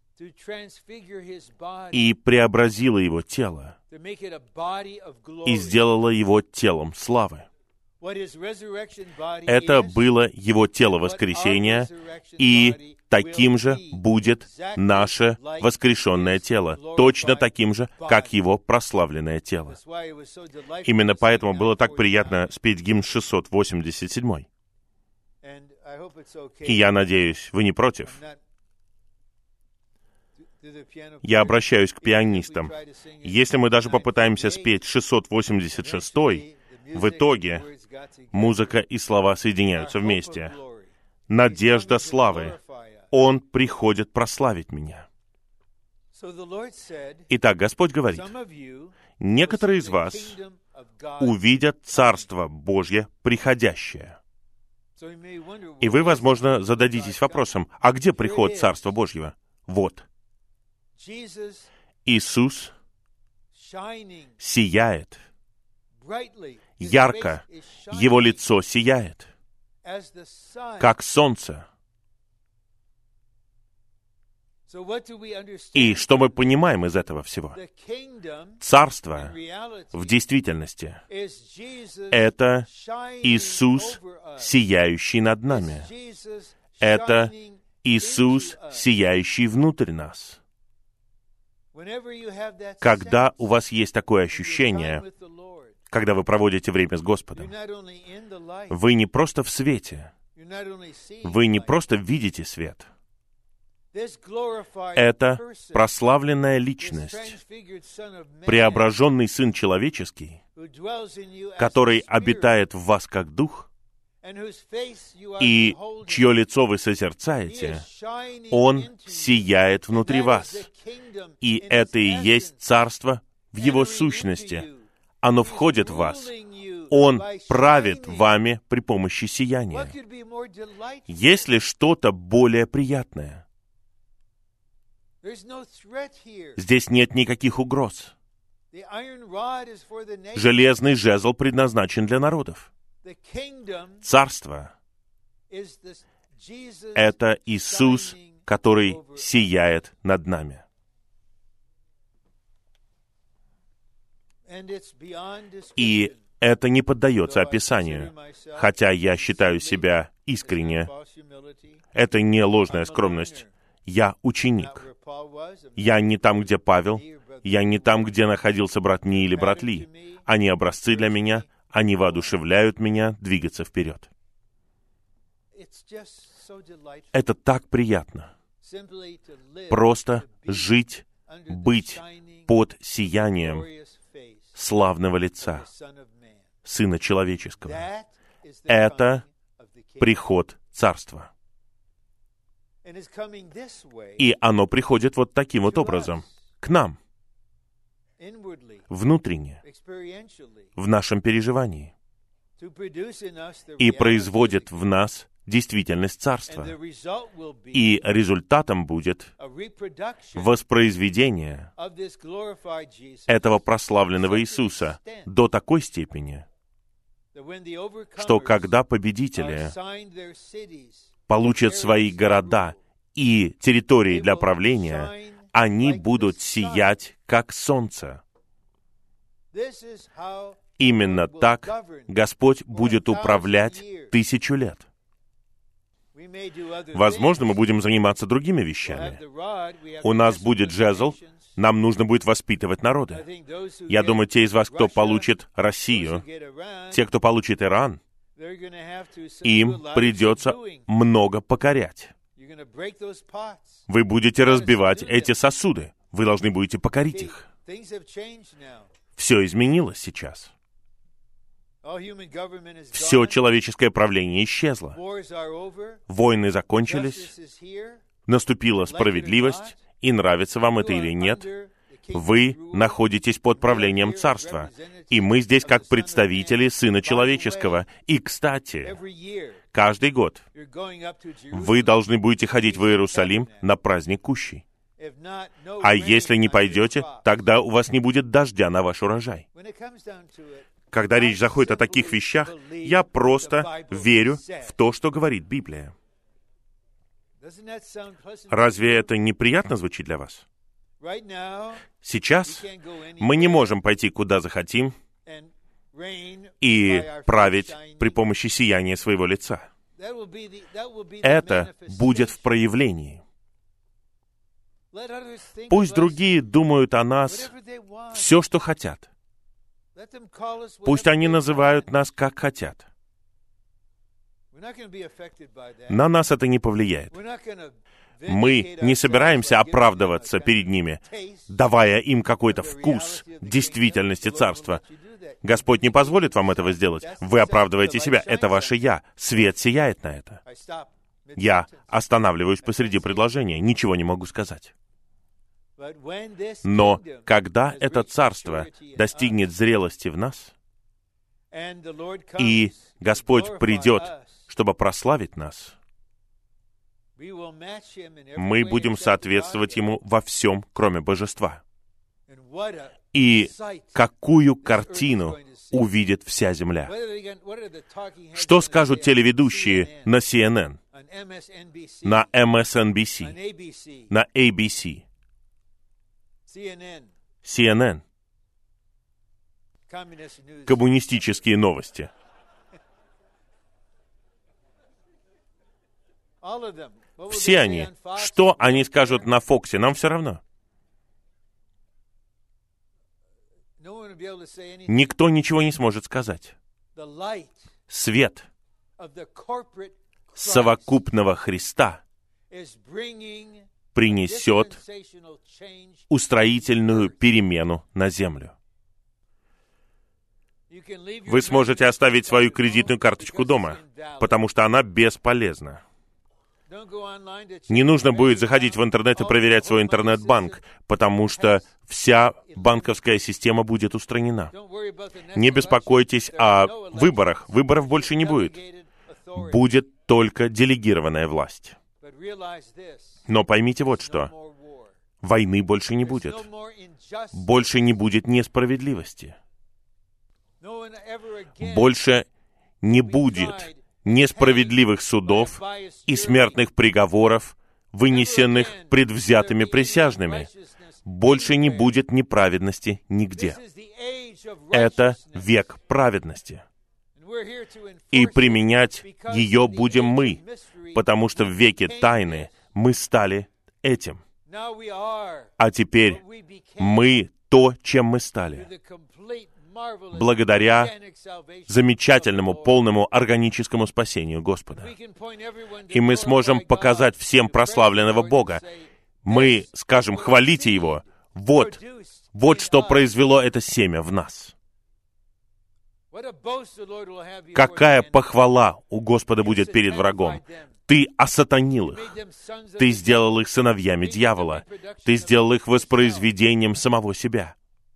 и преобразила его тело, и сделала его телом славы. Это было его тело воскресения, и таким же будет наше воскрешенное тело, точно таким же, как его прославленное тело. Именно поэтому было так приятно спеть гимн шестьсот восемьдесят семь. И я надеюсь, вы не против. Я обращаюсь к пианистам. Если мы даже попытаемся спеть шестьсот восемьдесят шесть, в итоге музыка и слова соединяются вместе. Надежда славы. Он приходит прославить меня. Итак, Господь говорит, некоторые из вас увидят Царство Божье приходящее. И вы, возможно, зададитесь вопросом, а где приход Царства Божьего? Вот. Иисус сияет ярко, Его лицо сияет, как солнце. И что мы понимаем из этого всего? Царство в действительности — это Иисус, сияющий над нами. Это Иисус, сияющий внутрь нас. Когда у вас есть такое ощущение, когда вы проводите время с Господом, вы не просто в свете, вы не просто видите свет. Это прославленная личность, преображенный Сын Человеческий, который обитает в вас как Дух, и чье лицо вы созерцаете, Он сияет внутри вас. И это и есть Царство в Его сущности. Оно входит в вас. Он правит вами при помощи сияния. Есть ли что-то более приятное? Здесь нет никаких угроз. Железный жезл предназначен для народов. Царство — это Иисус, который сияет над нами. И это не поддается описанию, хотя я считаю себя искренне. Это не ложная скромность. Я ученик. Я не там, где Павел. Я не там, где находился брат Ни или брат Ли. Они образцы для меня. Они воодушевляют меня двигаться вперед. Это так приятно. Просто жить, быть под сиянием славного лица Сына Человеческого. Это приход Царства. И оно приходит вот таким вот образом, к нам, внутренне, в нашем переживании, и производит в нас действительность Царства. И результатом будет воспроизведение этого прославленного Иисуса до такой степени, что когда победители получат свои города и территории для правления, они будут сиять, как солнце. Именно так Господь будет управлять тысячу лет. Возможно, мы будем заниматься другими вещами. У нас будет жезл, нам нужно будет воспитывать народы. Я думаю, те из вас, кто получит Россию, те, кто получит Иран, им придется много покорять. Вы будете разбивать эти сосуды. Вы должны будете покорить их. Все изменилось сейчас. Все человеческое правление исчезло. Войны закончились, наступила справедливость, и нравится вам это или нет, вы находитесь под правлением Царства. И мы здесь как представители Сына Человеческого. И, кстати, каждый год вы должны будете ходить в Иерусалим на праздник Кущи. А если не пойдете, тогда у вас не будет дождя на ваш урожай. Когда речь заходит о таких вещах, я просто верю в то, что говорит Библия. Разве это неприятно звучит для вас? Сейчас мы не можем пойти куда захотим и править при помощи сияния своего лица. Это будет в проявлении. Пусть другие думают о нас все, что хотят. Пусть они называют нас, как хотят. На нас это не повлияет. Мы не собираемся оправдываться перед ними, давая им какой-то вкус действительности Царства. Господь не позволит вам этого сделать. Вы оправдываете себя. Это ваше «я». Свет сияет на это. Я останавливаюсь посреди предложения. Ничего не могу сказать. Но когда это Царство достигнет зрелости в нас, и Господь придет, чтобы прославить нас, мы будем соответствовать Ему во всем, кроме божества. И какую картину увидит вся земля? Что скажут телеведущие на си эн эн, на эм эс эн би си, на эй би си? си эн эн. Коммунистические новости. Все они. Что они скажут на Фоксе, нам все равно. Никто ничего не сможет сказать. Свет совокупного Христа принесет устроительную перемену на землю. Вы сможете оставить свою кредитную карточку дома, потому что она бесполезна. Не нужно будет заходить в интернет и проверять свой интернет-банк, потому что вся банковская система будет устранена. Не беспокойтесь о выборах. Выборов больше не будет. Будет только делегированная власть. Но поймите вот что. Войны больше не будет. Больше не будет несправедливости. Больше не будет несправедливых судов и смертных приговоров, вынесенных предвзятыми присяжными. Больше не будет неправедности нигде. Это век праведности. И применять ее будем мы, потому что в веке тайны мы стали этим. А теперь мы то, чем мы стали. Благодаря замечательному, полному органическому спасению Господа. И мы сможем показать всем прославленного Бога. Мы скажем, хвалите Его. Вот, вот что произвело это семя в нас. Какая похвала у Господа будет перед врагом. Ты осатанил их. Ты сделал их сыновьями дьявола. Ты сделал их воспроизведением самого себя.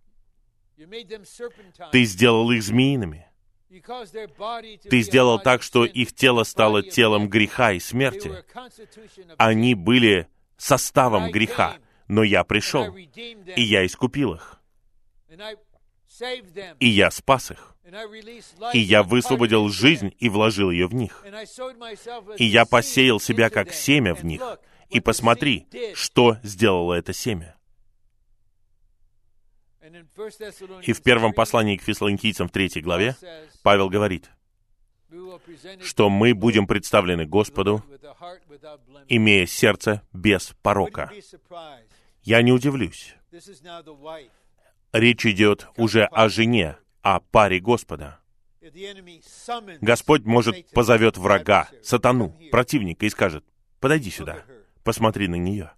Ты сделал их змеиными. Ты сделал так, что их тело стало телом греха и смерти. Они были составом греха, но я пришел, и я искупил их. И я спас их. И я высвободил жизнь и вложил ее в них. И я посеял себя как семя в них. И посмотри, что сделало это семя. И в первом послании к Фессалоникийцам в третьей главе Павел говорит, что мы будем представлены Господу, имея сердце без порока. Я не удивлюсь. Речь идет уже о жене, о паре Господа. Господь, может, позовет врага, сатану, противника и скажет, подойди сюда, посмотри на нее.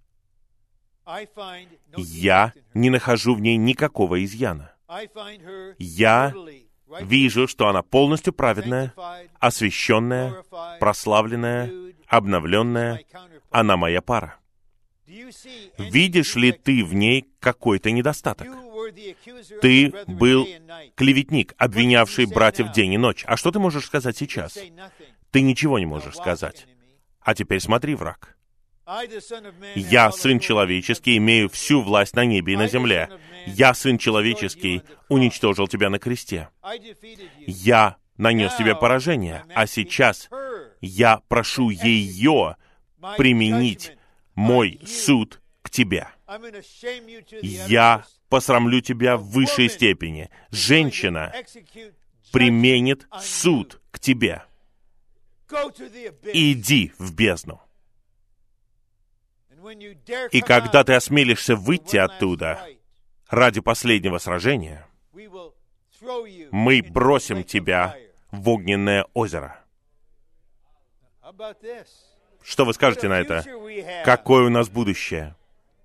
Я не нахожу в ней никакого изъяна. Я вижу, что она полностью праведная, освященная, прославленная, обновленная. Она моя пара. Видишь ли ты в ней какой-то недостаток? Ты был клеветник, обвинявший братьев день и ночь. А что ты можешь сказать сейчас? Ты ничего не можешь сказать. А теперь смотри, враг. Я, Сын Человеческий, имею всю власть на небе и на земле. Я, Сын Человеческий, уничтожил тебя на кресте. Я нанес тебе поражение, а сейчас я прошу ее применить мой суд к тебе. Я посрамлю тебя в высшей степени. Женщина применит суд к тебе. Иди в бездну. И когда ты осмелишься выйти оттуда ради последнего сражения, мы бросим тебя в огненное озеро. Что вы скажете на это? Какое у нас будущее?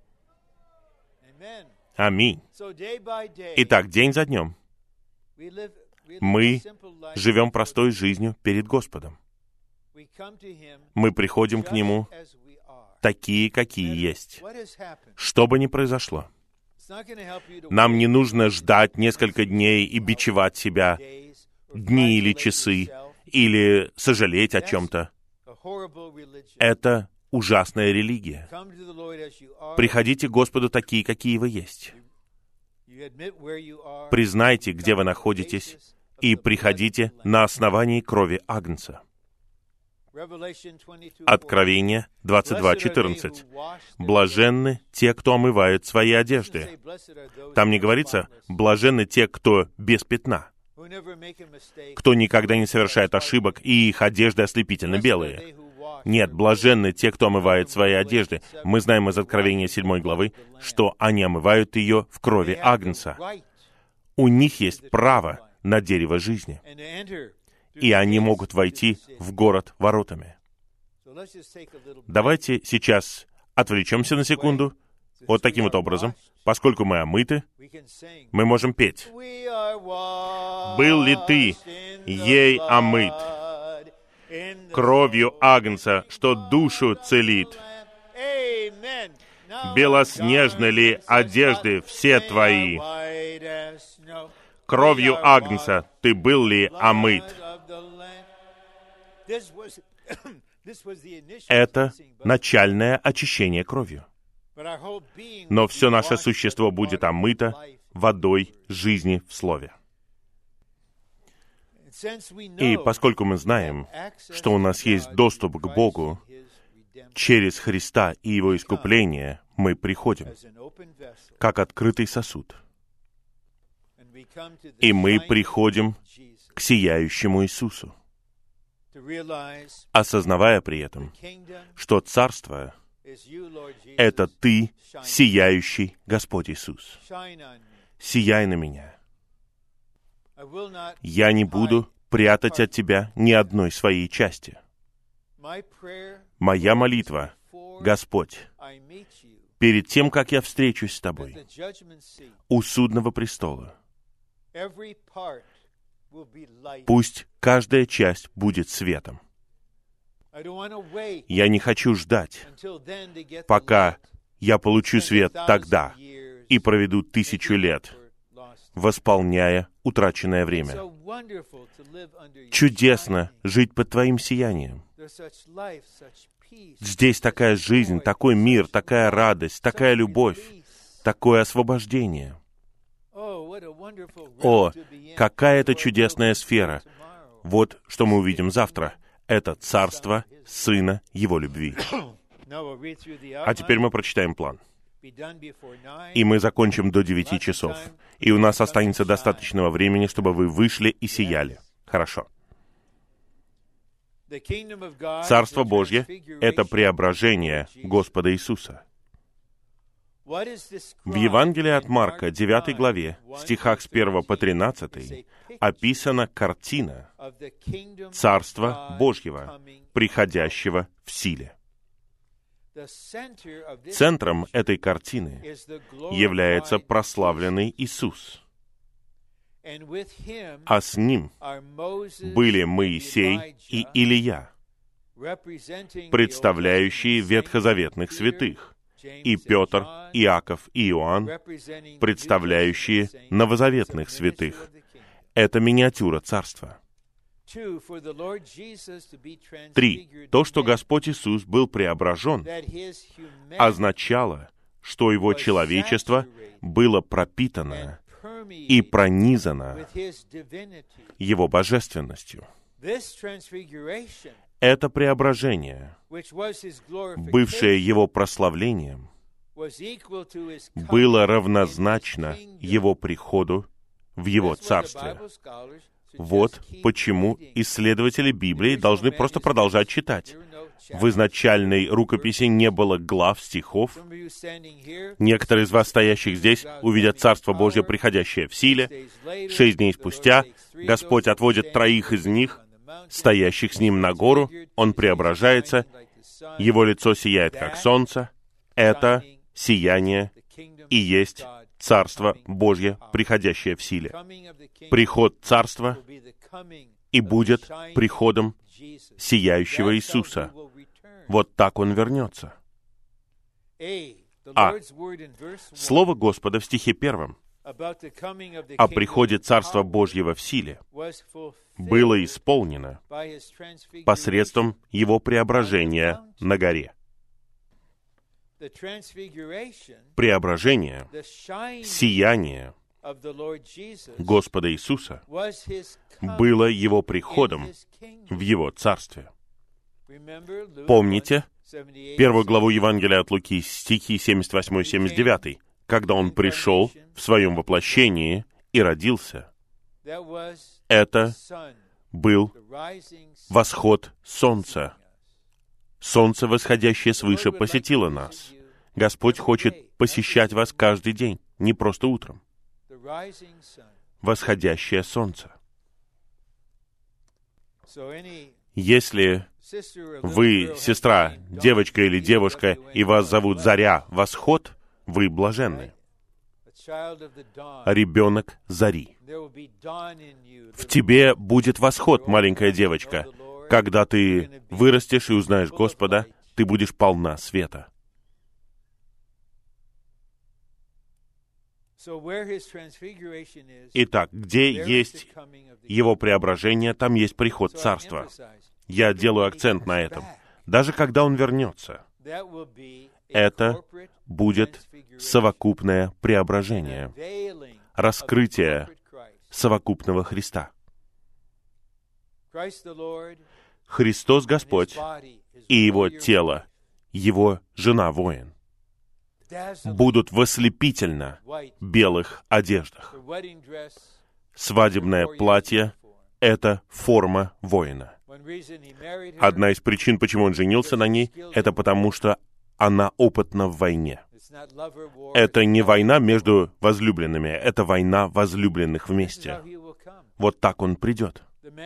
Аминь. Итак, день за днем мы живем простой жизнью перед Господом. Мы приходим к Нему такие, какие есть. Что бы ни произошло, нам не нужно ждать несколько дней и бичевать себя, дни или часы, или сожалеть о чем-то. Это ужасная религия. Приходите к Господу такие, какие вы есть. Признайте, где вы находитесь, и приходите на основании крови Агнца. Откровение двадцать два четырнадцать. «Блаженны те, кто омывают свои одежды». Там не говорится «блаженны те, кто без пятна», кто никогда не совершает ошибок, и их одежды ослепительно белые. Нет, блаженны те, кто омывает свои одежды. Мы знаем из Откровения седьмой главы, что они омывают ее в крови Агнца. У них есть право на дерево жизни, и они могут войти в город воротами. Давайте сейчас отвлечемся на секунду. Вот таким вот образом. Поскольку мы омыты, мы можем петь. «Был ли ты ей омыт кровью Агнца, что душу целит? Белоснежны ли одежды все твои? Кровью Агнца ты был ли омыт?» Это начальное очищение кровью. Но все наше существо будет омыто водой жизни в Слове. И поскольку мы знаем, что у нас есть доступ к Богу через Христа и Его искупление, мы приходим как открытый сосуд. И мы приходим к сияющему Иисусу, осознавая при этом, что Царство — это Ты, сияющий Господь Иисус. Сияй на меня. Я не буду прятать от Тебя ни одной своей части. Моя молитва, Господь, перед тем, как я встречусь с Тобой у судного престола, пусть каждая часть будет светом. Я не хочу ждать, пока я получу свет тогда и проведу тысячу лет, восполняя утраченное время. Чудесно жить под Твоим сиянием. Здесь такая жизнь, такой мир, такая радость, такая любовь, такое освобождение. О, какая это чудесная сфера! Вот что мы увидим завтра. Это царство Сына Его любви. А теперь мы прочитаем план. И мы закончим до девяти часов. И у нас останется достаточного времени, чтобы вы вышли и сияли. Хорошо. Царство Божье — это преображение Господа Иисуса. В Евангелии от Марка, девятой главе, стихах с первого по тринадцатый, описана картина Царства Божьего, приходящего в силе. Центром этой картины является прославленный Иисус. а с Ним были Моисей и Илия, представляющие ветхозаветных святых, и Петр, Иаков и Иоанн, представляющие новозаветных святых. Это миниатюра Царства. Три. То, что Господь Иисус был преображен, означало, что Его человечество было пропитано и пронизано Его божественностью. Это преображение, бывшее Его прославлением, было равнозначно Его приходу в Его Царстве. Вот почему исследователи Библии должны просто продолжать читать. В изначальной рукописи не было глав, стихов. Некоторые из вас, стоящих здесь, увидят Царство Божье, приходящее в силе. Шесть дней спустя Господь отводит троих из них, стоящих с Ним на гору. Он преображается. Его лицо сияет, как солнце. Это сияние и есть Царство Божье, приходящее в силе. Приход Царства и будет приходом сияющего Иисуса. Вот так Он вернется. А. Слово Господа в стихе первом о приходе Царства Божьего в силе было исполнено посредством Его преображения на горе. Преображение, сияние Господа Иисуса было Его приходом в Его Царстве. Помните первую главу Евангелия от Луки, стихи семьдесят восемь семьдесят девять, когда Он пришел в Своем воплощении и родился. Это был восход солнца. Солнце, восходящее свыше, посетило нас. Господь хочет посещать вас каждый день, не просто утром. Восходящее солнце. Если вы сестра, девочка или девушка, и вас зовут Заря, Восход, вы блаженны. Ребенок зари. В тебе будет восход, маленькая девочка. Когда ты вырастешь и узнаешь Господа, ты будешь полна света. Итак, где есть Его преображение, там есть приход Царства. Я делаю акцент на этом. Даже когда Он вернется, это будет совокупное преображение, раскрытие совокупного Христа. Христос Господь и Его тело, Его жена-воин, будут в ослепительно белых одеждах. Свадебное платье — это форма воина. Одна из причин, почему он женился на ней, это потому, что она опытна в войне. Это не война между возлюбленными, это война возлюбленных вместе. Вот так он придет.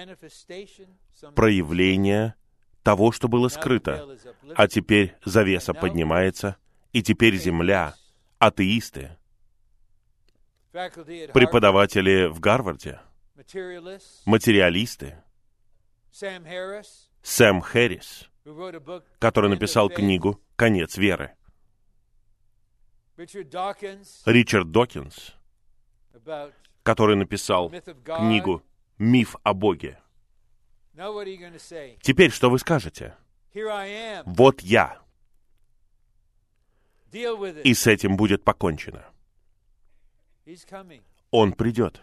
Проявление того, что было скрыто. А теперь завеса поднимается, и теперь земля, атеисты, преподаватели в Гарварде, материалисты, Сэм Хэррис, который написал книгу «Конец веры», Ричард Докинс, который написал книгу «Миф о Боге». Теперь что вы скажете? Вот я. И с этим будет покончено. Он придет.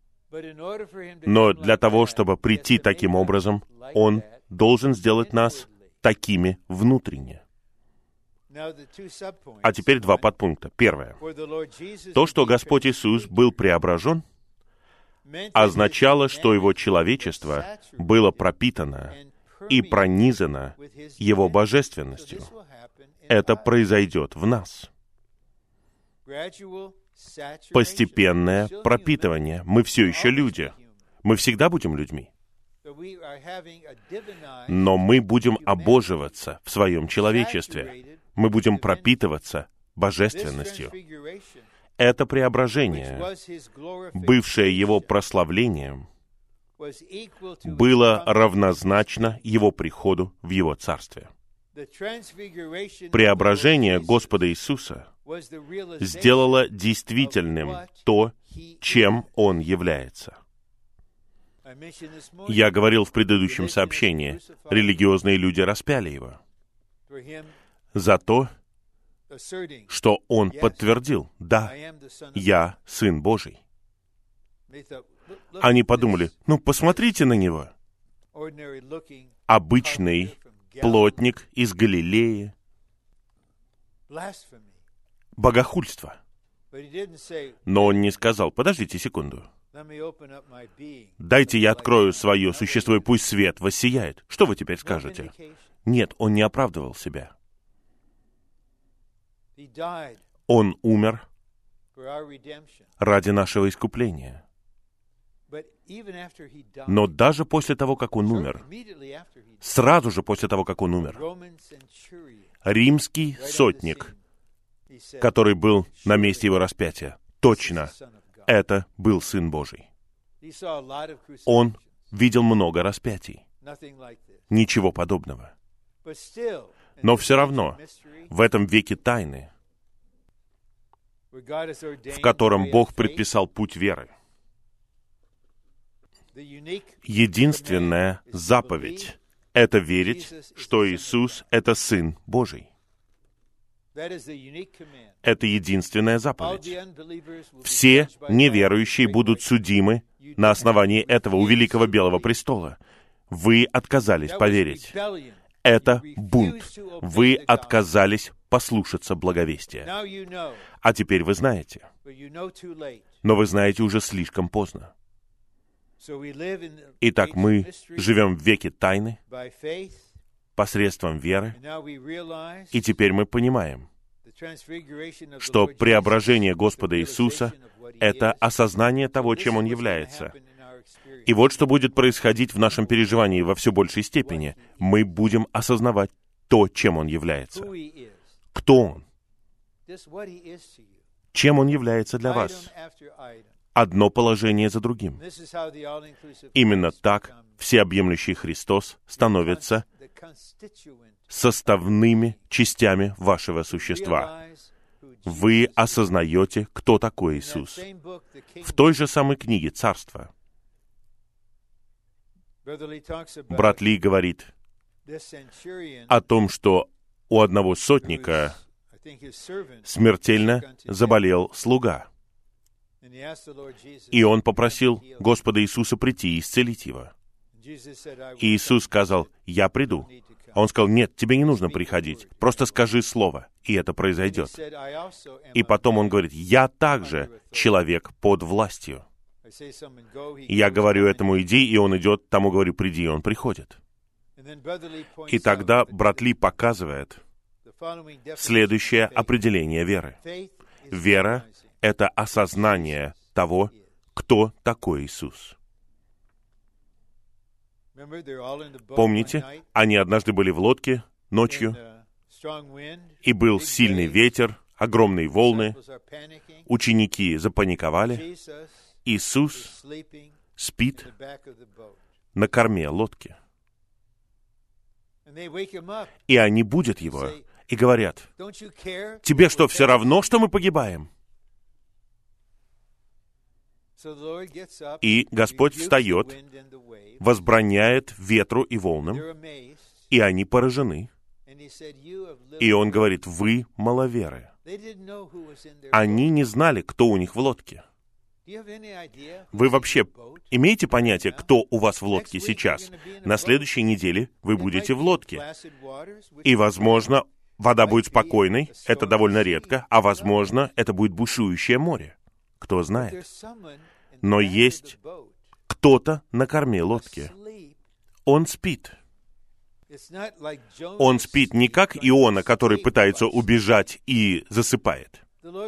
Но для того, чтобы прийти таким образом, Он должен сделать нас такими внутренне. А теперь два подпункта. Первое. То, что Господь Иисус был преображен, означало, что Его человечество было пропитано и пронизано Его божественностью. Это произойдет в нас. Постепенное пропитывание. Мы все еще люди. Мы всегда будем людьми. Но мы будем обоживаться в своем человечестве. Мы будем пропитываться божественностью. Это преображение, бывшее его прославлением, было равнозначно его приходу в его царстве. Преображение Господа Иисуса сделало действительным то, чем Он является. Я говорил в предыдущем сообщении, религиозные люди распяли Его за то, что Он подтвердил: «Да, я Сын Божий». Они подумали: ну, посмотрите на Него. Обычный плотник из Галилеи. Богохульство. Но Он не сказал: подождите секунду. Дайте я открою свое существо, и пусть свет воссияет. Что вы теперь скажете? Нет, Он не оправдывал себя. Он умер ради нашего искупления. Но даже после того, как Он умер, сразу же после того, как Он умер, римский сотник, который был на месте Его распятия, точно, это был Сын Божий. Он видел много распятий. Ничего подобного. Но все равно, в этом веке тайны, в котором Бог предписал путь веры, единственная заповедь — это верить, что Иисус — это Сын Божий. Это единственная заповедь. Все неверующие будут судимы на основании этого у Великого Белого престола. Вы отказались поверить. Это бунт. Вы отказались послушаться благовестия. А теперь вы знаете. Но вы знаете уже слишком поздно. Итак, мы живем в веке тайны посредством веры, и теперь мы понимаем, что преображение Господа Иисуса — это осознание того, чем Он является. И вот что будет происходить в нашем переживании во все большей степени. Мы будем осознавать то, чем Он является. Кто Он? Чем Он является для вас? Одно положение за другим. Именно так всеобъемлющий Христос становится составными частями вашего существа. Вы осознаете, кто такой Иисус. В той же самой книге «Царство» брат Ли говорит о том, что у одного сотника смертельно заболел слуга. И он попросил Господа Иисуса прийти и исцелить его. И Иисус сказал: «Я приду». А он сказал: «Нет, тебе не нужно приходить. Просто скажи слово, и это произойдет». И потом он говорит: «Я также человек под властью». И я говорю этому: «Иди», и он идет, тому говорю: «Приди», и он приходит. И тогда брат Ли показывает следующее определение веры. Вера — это осознание того, кто такой Иисус. Помните, они однажды были в лодке ночью, и был сильный ветер, огромные волны, ученики запаниковали. Иисус спит на корме лодки. И они будят Его и говорят: «Тебе что, все равно, что мы погибаем?» И Господь встает, возбраняет ветру и волнам, и они поражены. И Он говорит: «Вы маловеры». Они не знали, кто у них в лодке. Вы вообще имеете понятие, кто у вас в лодке сейчас? На следующей неделе вы будете в лодке. И, возможно, вода будет спокойной, это довольно редко, а, возможно, это будет бушующее море. Кто знает? Но есть кто-то на корме лодки. Он спит. Он спит не как Иона, который пытается убежать и засыпает.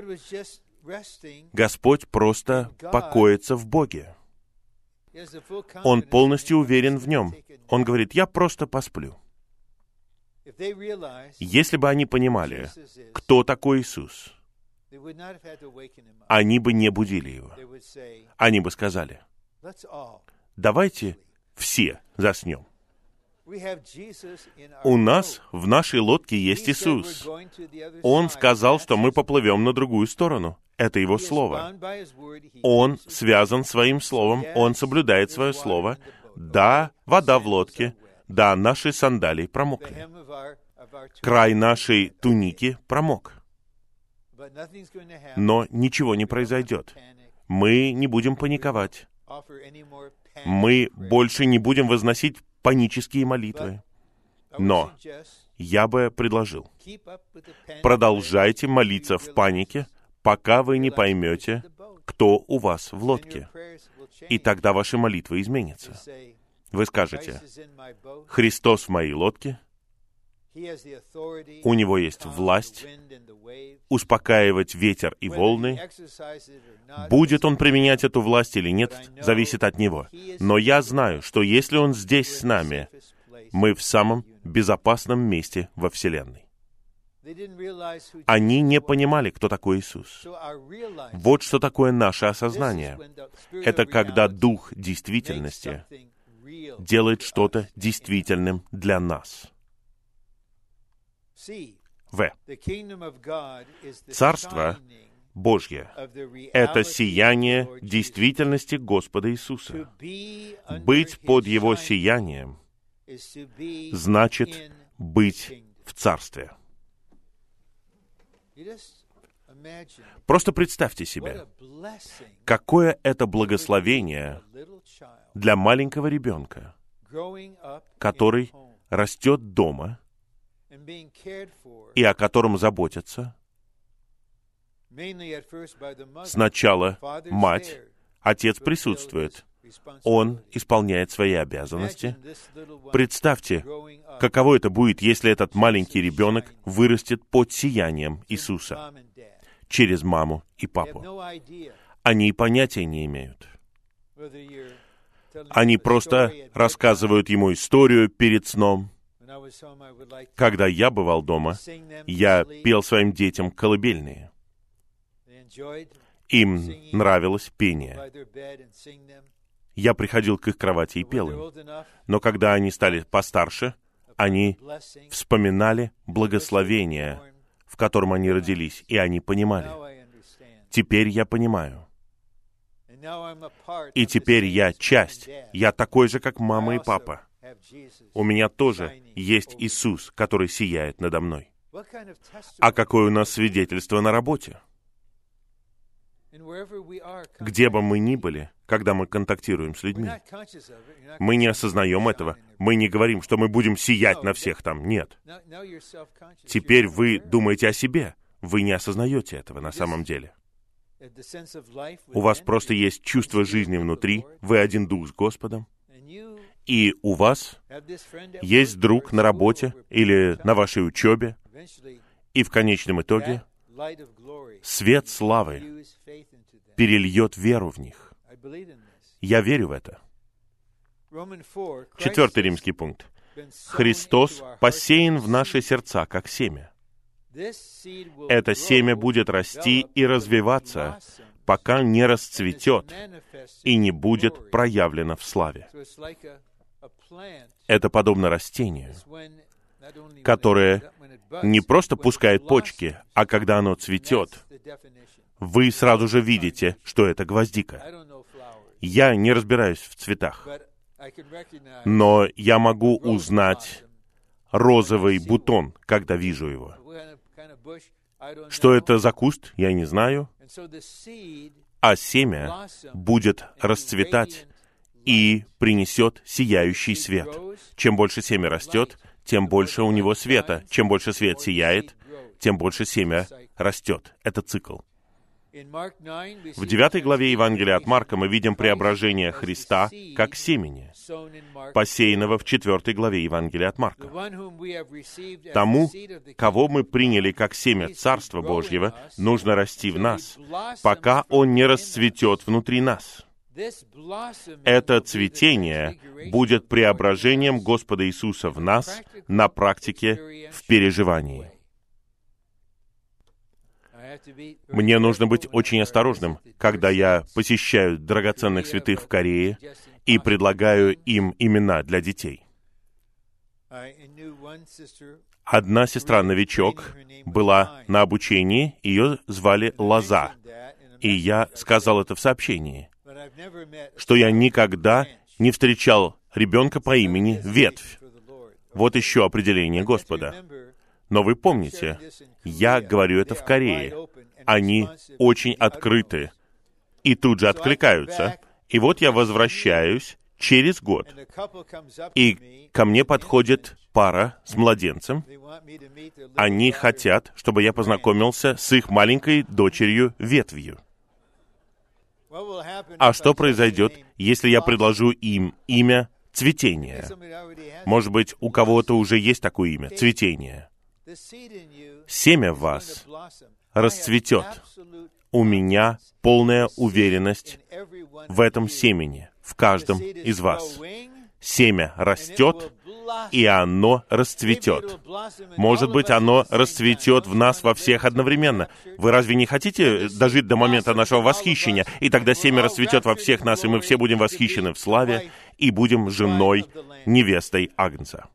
Господь просто покоится в Боге. Он полностью уверен в Нем. Он говорит: «Я просто посплю». Если бы они понимали, кто такой Иисус, они бы не будили его. Они бы сказали: давайте все заснем. У нас в нашей лодке есть Иисус. Он сказал, что мы поплывем на другую сторону. Это Его Слово. Он связан своим Словом, Он соблюдает свое Слово. Да, вода в лодке. Да, наши сандалии промокли. Край нашей туники промок. Но ничего не произойдет. Мы не будем паниковать. Мы больше не будем возносить панические молитвы. Но я бы предложил, продолжайте молиться в панике, пока вы не поймете, кто у вас в лодке. И тогда ваши молитвы изменятся. Вы скажете: Христос в моей лодке, у Него есть власть успокаивать ветер и волны. Будет Он применять эту власть или нет, зависит от Него. Но я знаю, что если Он здесь с нами, мы в самом безопасном месте во Вселенной. Они не понимали, кто такой Иисус. Вот что такое наше осознание. Это когда Дух действительности делает что-то действительным для нас. В. Царство Божье — это сияние действительности Господа Иисуса. Быть под Его сиянием значит быть в Царстве. Просто представьте себе, какое это благословение для маленького ребенка, который растет дома и о котором заботятся сначала мать, отец присутствует, он исполняет свои обязанности. Представьте, каково это будет, если этот маленький ребенок вырастет под сиянием Иисуса через маму и папу. Они и понятия не имеют. Они просто рассказывают ему историю перед сном. Когда я бывал дома, я пел своим детям колыбельные. Им нравилось пение. Я приходил к их кровати и пел им. Но когда они стали постарше, они вспоминали благословение, в котором они родились, и они понимали. Теперь я понимаю. И теперь я часть. Я такой же, как мама и папа. У меня тоже есть Иисус, который сияет надо мной. А какое у нас свидетельство на работе? Где бы мы ни были, когда мы контактируем с людьми, мы не осознаем этого. Мы не говорим, что мы будем сиять на всех там. Нет. Теперь вы думаете о себе. Вы не осознаете этого на самом деле. У вас просто есть чувство жизни внутри. Вы один дух с Господом. И у вас есть друг на работе или на вашей учебе. И в конечном итоге свет славы перельет веру в них. Я верю в это. Четвертый римский пункт. Христос посеян в наши сердца, как семя. Это семя будет расти и развиваться, пока не расцветет и не будет проявлено в славе. Это подобно растению, которое не просто пускает почки, а когда оно цветет, вы сразу же видите, что это гвоздика. Я не разбираюсь в цветах, но я могу узнать розовый бутон, когда вижу его. Что это за куст, я не знаю, а семя будет расцветать и принесет сияющий свет. Чем больше семя растет, тем больше у него света. Чем больше свет сияет, тем больше семя растет. Это цикл. В девятой главе Евангелия от Марка мы видим преображение Христа как семени, посеянного в четвертой главе Евангелия от Марка. Тому, кого мы приняли как семя Царства Божьего, нужно расти в нас, пока он не расцветет внутри нас. Это цветение будет преображением Господа Иисуса в нас на практике в переживании. Мне нужно быть очень осторожным, когда я посещаю драгоценных святых в Корее и предлагаю им имена для детей. Одна сестра-новичок была на обучении, ее звали Лоза, и я сказал это в сообщении, что я никогда не встречал ребенка по имени Ветвь. Вот еще определение Господа. Но вы помните, я говорю это в Корее. Они очень открыты и тут же откликаются. И вот я возвращаюсь через год, и ко мне подходит пара с младенцем. Они хотят, чтобы я познакомился с их маленькой дочерью Ветвью. А что произойдет, если я предложу им имя Цветение? Может быть, у кого-то уже есть такое имя — Цветение. Семя в вас расцветет. У меня полная уверенность в этом семени, в каждом из вас. Семя растет, и оно расцветет. Может быть, оно расцветет в нас во всех одновременно. Вы разве не хотите дожить до момента нашего восхищения? И тогда семя расцветет во всех нас, и мы все будем восхищены в славе, и будем женой, невестой Агнца.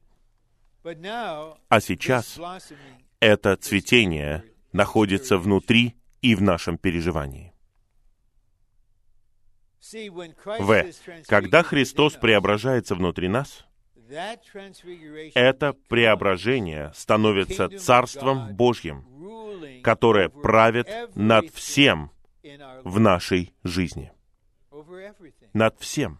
А сейчас это цветение находится внутри и в нашем переживании. В. Когда Христос преображается внутри нас, это преображение становится Царством Божьим, которое правит над всем в нашей жизни. Над всем.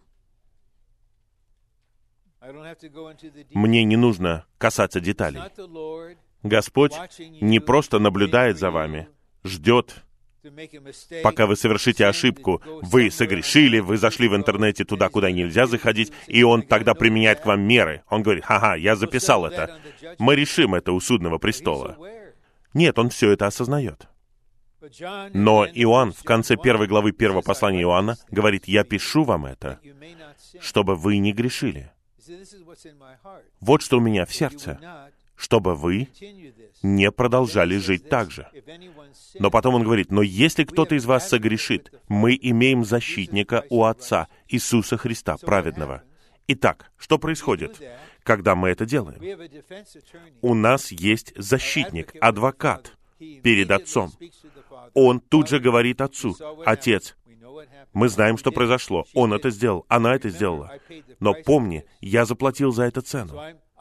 Мне не нужно касаться деталей. Господь не просто наблюдает за вами, ждет, пока вы совершите ошибку. Вы согрешили, вы зашли в интернете туда, куда нельзя заходить, и Он тогда применяет к вам меры. Он говорит: «Ха-ха, я записал это. Мы решим это у судного престола». Нет, Он все это осознает. Но Иоанн в конце первой главы первого послания Иоанна говорит: «Я пишу вам это, чтобы вы не грешили». Вот что у меня в сердце, чтобы вы не продолжали жить так же. Но потом он говорит: но если кто-то из вас согрешит, мы имеем защитника у Отца, Иисуса Христа, праведного. Итак, что происходит, когда мы это делаем? У нас есть защитник, адвокат перед Отцом. Он тут же говорит Отцу: «Отец, мы знаем, что произошло. Он это сделал, она это сделала. Но помни, я заплатил за это цену.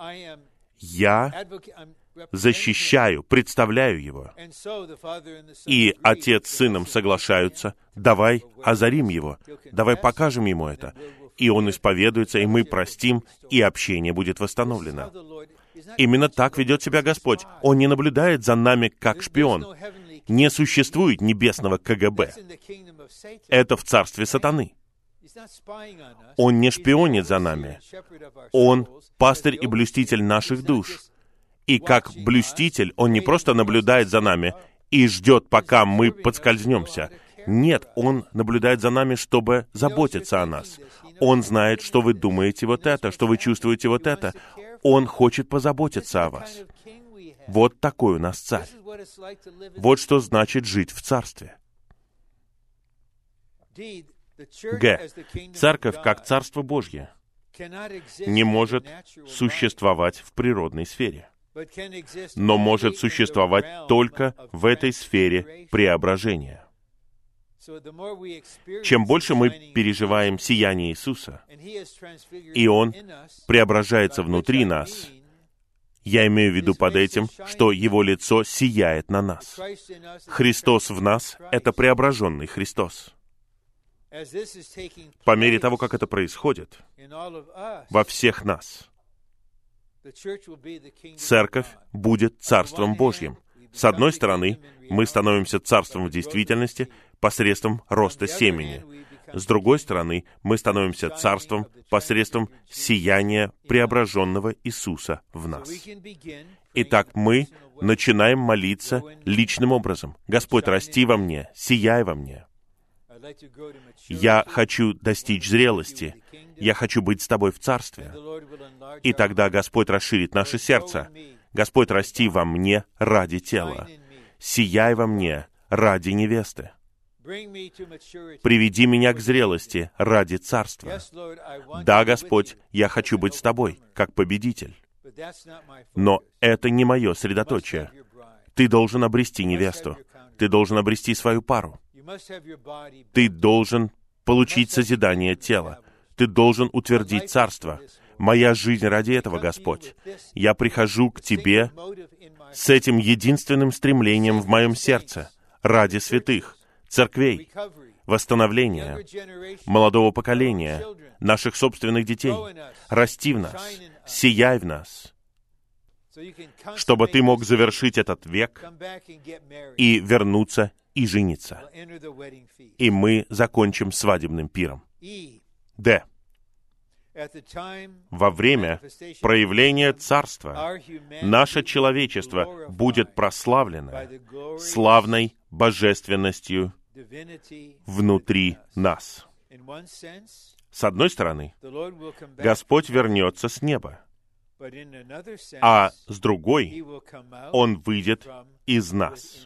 Я защищаю, представляю его». И Отец с Сыном соглашаются: «Давай озарим его, давай покажем ему это». И он исповедуется, и мы простим, и общение будет восстановлено. Именно так ведет себя Господь. Он не наблюдает за нами как шпион. Не существует небесного ка гэ бэ. Это в царстве сатаны. Он не шпионит за нами. Он пастырь и блюститель наших душ. И как блюститель, он не просто наблюдает за нами и ждет, пока мы подскользнемся. Нет, он наблюдает за нами, чтобы заботиться о нас. Он знает, что вы думаете вот это, что вы чувствуете вот это. Он хочет позаботиться о вас. Вот такой у нас царь. Вот что значит жить в царстве. Г. Церковь, как Царство Божье, не может существовать в природной сфере, но может существовать только в этой сфере преображения. Чем больше мы переживаем сияние Иисуса, и Он преображается внутри нас, я имею в виду под этим, что Его лицо сияет на нас. Христос в нас — это преображенный Христос. По мере того, как это происходит во всех нас, Церковь будет Царством Божьим. С одной стороны, мы становимся Царством в действительности посредством роста семени. С другой стороны, мы становимся Царством посредством сияния преображенного Иисуса в нас. Итак, мы начинаем молиться личным образом: «Господь, расти во мне, сияй во мне. Я хочу достичь зрелости. Я хочу быть с Тобой в Царстве». И тогда Господь расширит наше сердце. «Господь, расти во мне ради тела. сияй во мне ради невесты. Приведи меня к зрелости ради царства. Да, Господь, я хочу быть с Тобой, как победитель. Но это не мое средоточие. Ты должен обрести невесту. Ты должен обрести свою пару. Ты должен получить созидание тела. Ты должен утвердить царство. Моя жизнь ради этого, Господь. Я прихожу к Тебе с этим единственным стремлением в моем сердце, ради святых, церквей, восстановления, молодого поколения, наших собственных детей. Расти в нас, сияй в нас, чтобы Ты мог завершить этот век и вернуться и жениться. И мы закончим свадебным пиром. Д. Во время проявления Царства наше человечество будет прославлено славной божественностью внутри нас. С одной стороны, Господь вернется с неба, а с другой, Он выйдет из нас.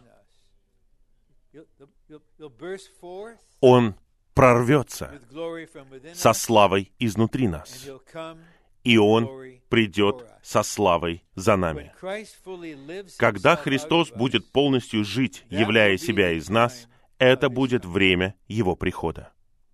Он прорвется со славой изнутри нас, и Он придет со славой за нами. Когда Христос будет полностью жить, являя себя из нас, это будет время Его прихода.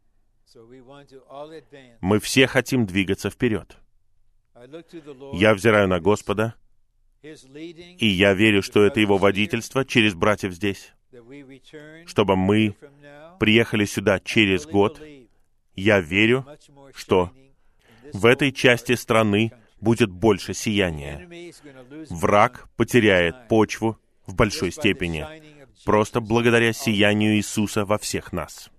Мы все хотим двигаться вперед. Я взираю на Господа, и я верю, что это Его водительство через братьев здесь, чтобы мы приехали сюда через год. Я верю, что в этой части страны будет больше сияния. Враг потеряет почву в большой степени, просто благодаря сиянию Иисуса во всех нас.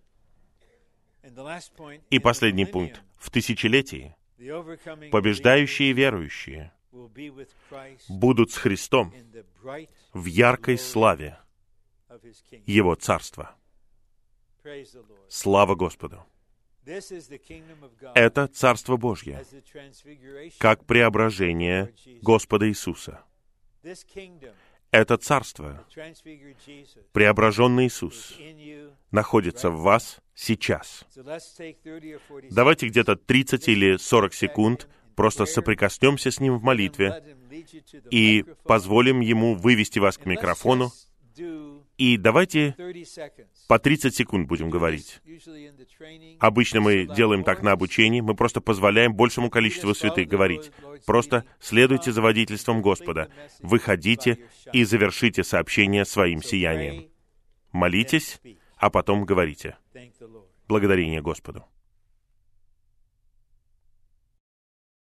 И последний пункт. В тысячелетии побеждающие верующие будут с Христом в яркой славе Его Царства. Слава Господу! Это Царство Божье, как преображение Господа Иисуса. Это Царство, преображенный Иисус, находится в вас сейчас. Давайте где-то тридцать или сорок секунд просто соприкоснемся с Ним в молитве и позволим Ему вывести вас к микрофону. И давайте по тридцать секунд будем говорить. Обычно мы делаем так на обучении, мы просто позволяем большему количеству святых говорить. Просто следуйте за водительством Господа. Выходите и завершите сообщение своим сиянием. Молитесь, а потом говорите. Благодарение Господу.